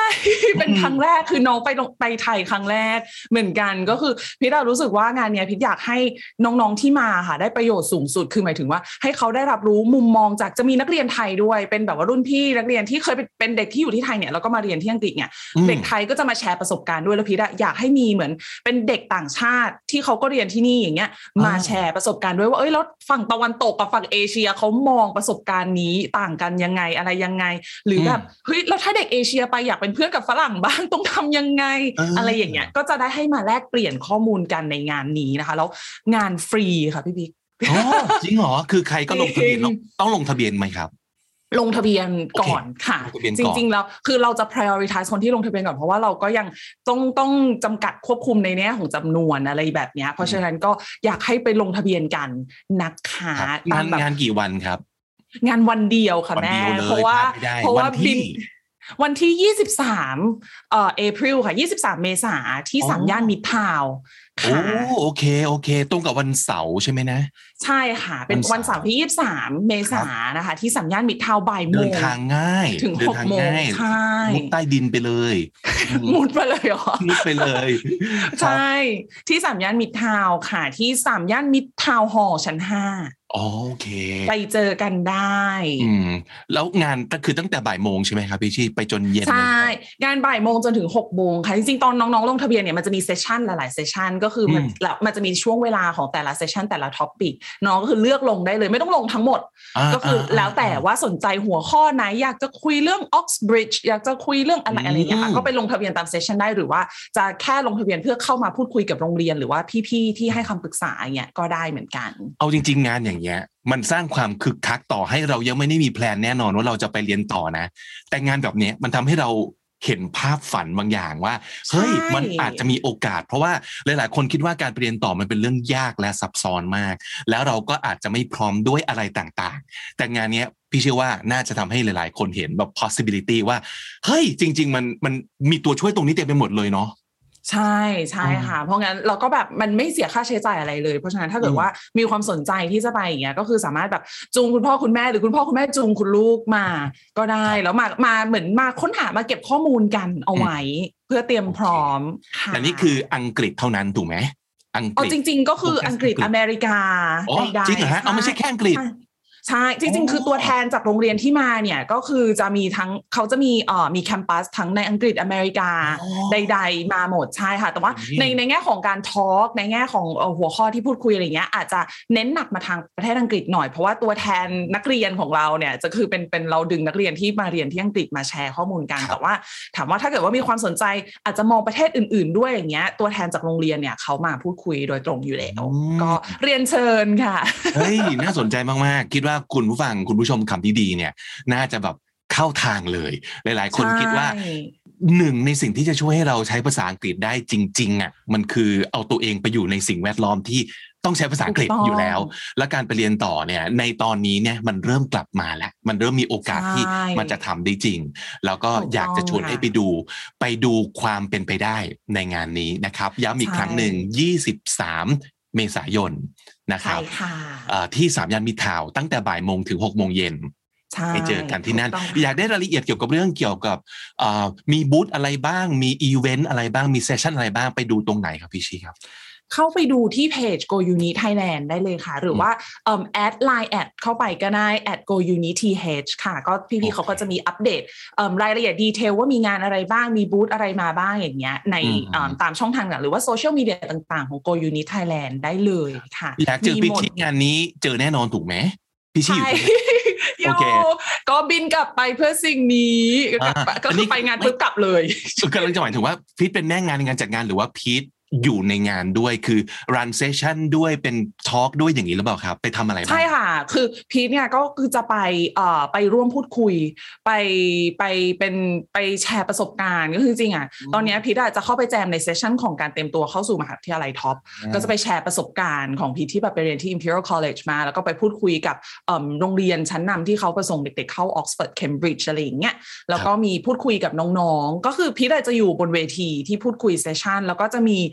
เป็นครั้งแรกคือน้องไปไปไทยครั้งแรกเหมือนกันก็คือพี่ดารู้สึกว่างานเนี้ยพี่อยากให้น้องๆที่มาค่ะได้ประโยชน์สูงสุดคือหมายถึงว่าให้เขาได้รับรู้มุมมองจากจะมีนักเรียนไทยด้วยเป็นแบบว่ารุ่นพี่นักเรียนที่เคยเป็นเด็กที่อยู่ที่ไทยเนี่ยแล้วก็มาเรียนที่อังกฤษเนี่ยเด็กไทยก็จะมาแชร์ประสบการณ์ด้วยแล้วพี่อยากให้มีเหมือนเป็นเด็กต่างชาติที่เขาก็เรียนที่นี่อย่างเงี้ยมาแชร์ประสบการณ์ด้วยว่าเอ้ยแล้วฝั่งตะวันตกกับฝั่งเอเชียเขามองประสบการณ์นี้ต่างกันยังไงอะไรยังไงหรือแบบเฮ้ยแล้วถ้าเด็กเอเชียไปอยากเป็นเพื่อนกับฝรั่งบ้างต้องทำยังไง อ, อะไรอย่างเงี้ยก็จะได้ให้มาแลกเปลี่ยนข้อมูลกันในงานนี้นะคะแล้วงานฟรีค่ะพี่บิ๊กอ๋อจริงเหรอคือใครก็ลงทะเบียนต้องลงทะเบียนไหมครับลงทะเบียนก่อนค่ะจริงๆแล้วคือเราจะ prioritize คนที่ลงทะเบียนก่อนเพราะว่าเราก็ยังต้องต้องจำกัดควบคุมในแง่ของจำนวนอะไรแบบนี้เพราะฉะนั้นก็อยากให้ไปลงทะเบียนกันนะคะงานงานกี่วันครับงานวันเดียวค่ะแม่เพราะว่าเพราะว่าบินวันที่ยี่สิบสามเอ่อ April ค่ะยี่สิบสามเมษายนที่สามย่านมิตรทาวน์โอ้โอเคโอเคตรงกับวันเสาร์ใช่ไหมนะใช่ค่ะเป็นวันเสาร์ที่ยี่สิบสามเมษายนนะคะที่สามย่านมิตรทาวน์บ่ายโมงเดินทางง่ายถึงหกโมงใช่มุดใต้ดินไปเลยมุดไปเลยเหรอมุดไปเลยใช่ที่สามย่านมิตรทาวน์ค่ะที่สามย่านมิตรทาวน์ฮอลล์ชั้นห้าโอเคไปเจอกันได้อืมแล้วงานก็คือตั้งแต่บ่ายโมงใช่ไหมครับพี่ชี่ไปจนเย็นใช่งานบ่ายโมงจนถึงหกโมงค่ะจริงๆตอนน้องๆลงทะเบียนเนี่ยมันจะมีเซสชั่นหลายๆเซสชั่นก็คือมันแล้วมันจะมีช่วงเวลาของแต่ละเซสชั่นแต่ละท็อปปิกน้องก็คือเลือกลงได้เลยไม่ต้องลงทั้งหมดก็คือแล้วแต่ว่าสนใจหัวข้อไหนอยากจะคุยเรื่อง Oxbridge อยากจะคุยเรื่องอะไรอะไรอย่างเงี้ยค่ะก็ไปลงทะเบียนตามเซสชั่นได้หรือว่าจะแค่ลงทะเบียนเพื่อเข้ามาพูดคุยกับโรงเรียนหรือว่าพี่ๆที่ให้คำปรึกษาอย่างเงี้ยก็ได้เหมือนกันเอาจริงๆงานอย่างเงี้ยมันสร้างความคึกคักต่อให้เรายังไม่ได้มีแพลนแน่นอนว่าเราจะไปเรียนต่อนะแต่งานแบบนี้มันทำให้เราเห็นภาพฝันบางอย่างว่าเฮ้ยมันอาจจะมีโอกาสเพราะว่าหลายๆคนคิดว่าการไปเรียนต่อมันเป็นเรื่องยากและซับซ้อนมากแล้วเราก็อาจจะไม่พร้อมด้วยอะไรต่างๆแต่งานนี้พี่เชื่อว่าน่าจะทำให้หลายๆคนเห็นแบบ possibility ว่าเฮ้ยจริงๆมันมันมีตัวช่วยตรงนี้เต็มไปหมดเลยเนาะใช่ใช่ค่ะเพราะงั้นเราก็แบบมันไม่เสียค่าใช้จ่ายอะไรเลยเพราะฉะนั้นถ้าเกิดว่ามีความสนใจที่จะไปอย่างเงี้ยก็คือสามารถแบบจูงคุณพ่อคุณแม่หรือคุณพ่อคุณแม่จูงคุณลูกมาก็ได้แล้วมามาเหมือนมาค้นหามาเก็บข้อมูลกันเอาไว้เพื่อเตรียมพร้อมค่ะแต่นี่คืออังกฤษเท่านั้นถูกไหมอังกฤษจริงๆก็คืออังกฤษอเมริกาจริงเหรอฮะเอาไม่ใช่แค่อังกฤษใช่จริงๆคือตัวแทนจากโรงเรียนที่มาเนี่ยก็คือจะมีทั้งเขาจะมีเอ่อมีแคมปัสทั้งในอังกฤษอเมริกาใดๆมาหมดใช่ค่ะแต่ว่าในในแง่ของการทอล์กในแง่ของหัวข้อที่พูดคุยอะไรเงี้ยอาจจะเน้นหนักมาทางประเทศอังกฤษหน่อยเพราะว่าตัวแทนนักเรียนของเราเนี่ยจะคือเป็นเป็นเราดึงนักเรียนที่มาเรียนที่อังกฤษมาแชร์ข้อมูลกันแต่ว่าถามว่าถ้าเกิดว่ามีความสนใจอาจจะมองประเทศอื่นๆด้วยอย่างเงี้ยตัวแทนจากโรงเรียนเนี่ยเขามาพูดคุยโดยตรงอยู่แล้วก็เรียนเชิญค่ะเฮ้ยน่าสนใจมากๆคิดว่าคุณผู้ฟังคุณผู้ชมคำที่ดีเนี่ยน่าจะแบบเข้าทางเลยหลายๆคนคิดว่าหนึ่งในสิ่งที่จะช่วยให้เราใช้ภาษาอังกฤษได้จริงๆอ่ะมันคือเอาตัวเองไปอยู่ในสิ่งแวดล้อมที่ต้องใช้ภาษาอังกฤษอยู่แล้วและการไปเรียนต่อเนี่ยในตอนนี้เนี่ยมันเริ่มกลับมาแล้วมันเริ่มมีโอกาสที่มันจะทำได้จริงแล้วก็อยากจะชวนให้ไปดูไปดูความเป็นไปได้ในงานนี้นะครับย้ำอีกครั้งหนึ่งยี่สิบสามเมษายนนะครับที่สามย่านมิตรทาวน์ตั้งแต่บ่ายโมงถึงหกโมงเย็นไปเจอกันที่นั่นอยากได้รายละเอียดเกี่ยวกับเรื่องเกี่ยวกับมีบูธอะไรบ้างมีอีเวนต์อะไรบ้างมีเซสชั่นอะไรบ้างไปดูตรงไหนครับพี่ชีครับเข้าไปดูที่เพจ Go Uni Thailand ได้เลยค่ะหรือว่าเอ่อแอด ไลน์ แอดเข้าไปก็ได้ แอท Go Uni ที เอช ค่ะก็พี่ๆเขาก็จะมีอัปเดตเอ่อรายละเอียดดีเทลว่ามีงานอะไรบ้างมีบูธอะไรมาบ้างอย่างเงี้ยในตามช่องทางหรือว่าโซเชียลมีเดียต่างๆของ Go Uni Thailand ได้เลยค่ะอยากเจอพี่ชีงานนี้เจอแน่นอนถูกไหมพี่ชีอยู่โอเคก็บินกลับไปเพื่อสิ่งนี้ก็คือไปงานปุ๊บกลับเลยกำลังจะหมายถึงว่าพีทเป็นแม่งานในงานจัดงานหรือว่าพีทอยู่ในงานด้วยคือ run session ด้วยเป็นทอล์กด้วยอย่างนี้หรือเปล่าครับไปทำอะไรบ้างใช่ค่ะคือพีทเนี่ยก็คือจะไปเอ่อไปร่วมพูดคุยไปไปเป็นไปแชร์ประสบการณ์ก็คือจริงอ่ะตอนนี้พีทจะเข้าไปแจมในเซสชั่นของการเตรียมตัวเข้าสู่มหาวิทยาลัยท็อปก็จะไปแชร์ประสบการณ์ของพีทที่แบบไปเรียนที่ Imperial College มาแล้วก็ไปพูดคุยกับเอ่อโรงเรียนชั้นนำที่เขาประสงค์เด็กๆเข้า Oxford Cambridge อะไรอย่างเงี้ยแล้วก็มีพูดคุยกับน้องๆก็คือพีทจะอยู่บนเวทีที่พูดคุยเซสชั่นแล้วก็จะมี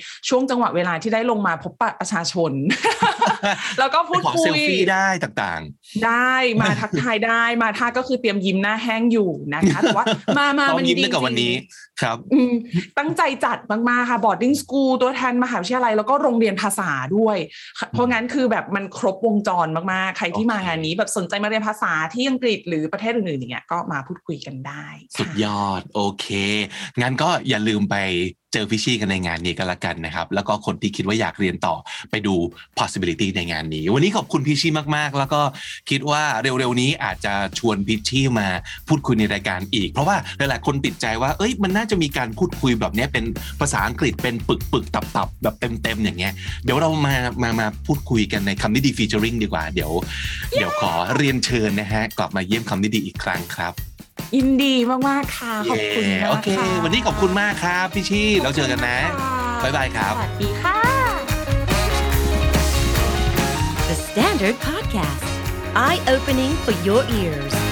ช่วงจังหวะเวลาที่ได้ลงมาพบปะประชาชน แล้วก็พูดขอคุเซยลฟี่ได้ต่างๆได้มาทักทายได้มาท่าก็คือเตรียมยิ้มหน้าแห้งอยู่นะคะแต่ว่ามามาๆต้องมันยิ้มดีได้กับวันนี้ครับอืมตั้งใจจัดมากๆค่ะ boarding school ตัวแทนมหาวิทยาลัยแล้วก็โรงเรียนภาษาด้วยเพราะงั้นคือแบบมันครบวงจรมากๆใครที่มางานนี้แบบสนใจมาเรียนภาษาที่อังกฤษหรือประเทศอื่นๆอย่างเงี้ยก็มาพูดคุยกันได้สุดยอดโอเคงั้นก็อย่าลืมไปเจอพี่ชี่กันในงานนี้กันละกันนะครับแล้วก็คนที่คิดว่าอยากเรียนต่อไปดู possibility ในงานนี้วันนี้ขอบคุณพี่ชี่มากๆแล้วก็คิดว่าเร็วๆนี้อาจจะชวนพี่ชี่มาพูดคุยในรายการอีกเพราะว่าหลายๆคนติดใจว่าเอ้ยมันน่าจะมีการพูดคุยแบบนี้เป็นภาษาอังกฤษเป็นปึกๆตับๆแบบเต็มๆอย่างเงี้ยเดี๋ยวเรามามามาพูดคุยกันในคำนี้ดี featuring ดีกว่าเดี๋ยวเดี๋ยวขอเรียนเชิญนะฮะกลับมาเยี่ยมคำนี้ดีอีกครั้งครับยินดีมากๆค่ะขอบคุณมากโอเคค่ะวันนี้ขอบคุณมากครับพี่ชี่เราเจอกันนะบ๊ายบายครับสวัสดีค่ะ The Standard Podcast Eye Opening for Your Ears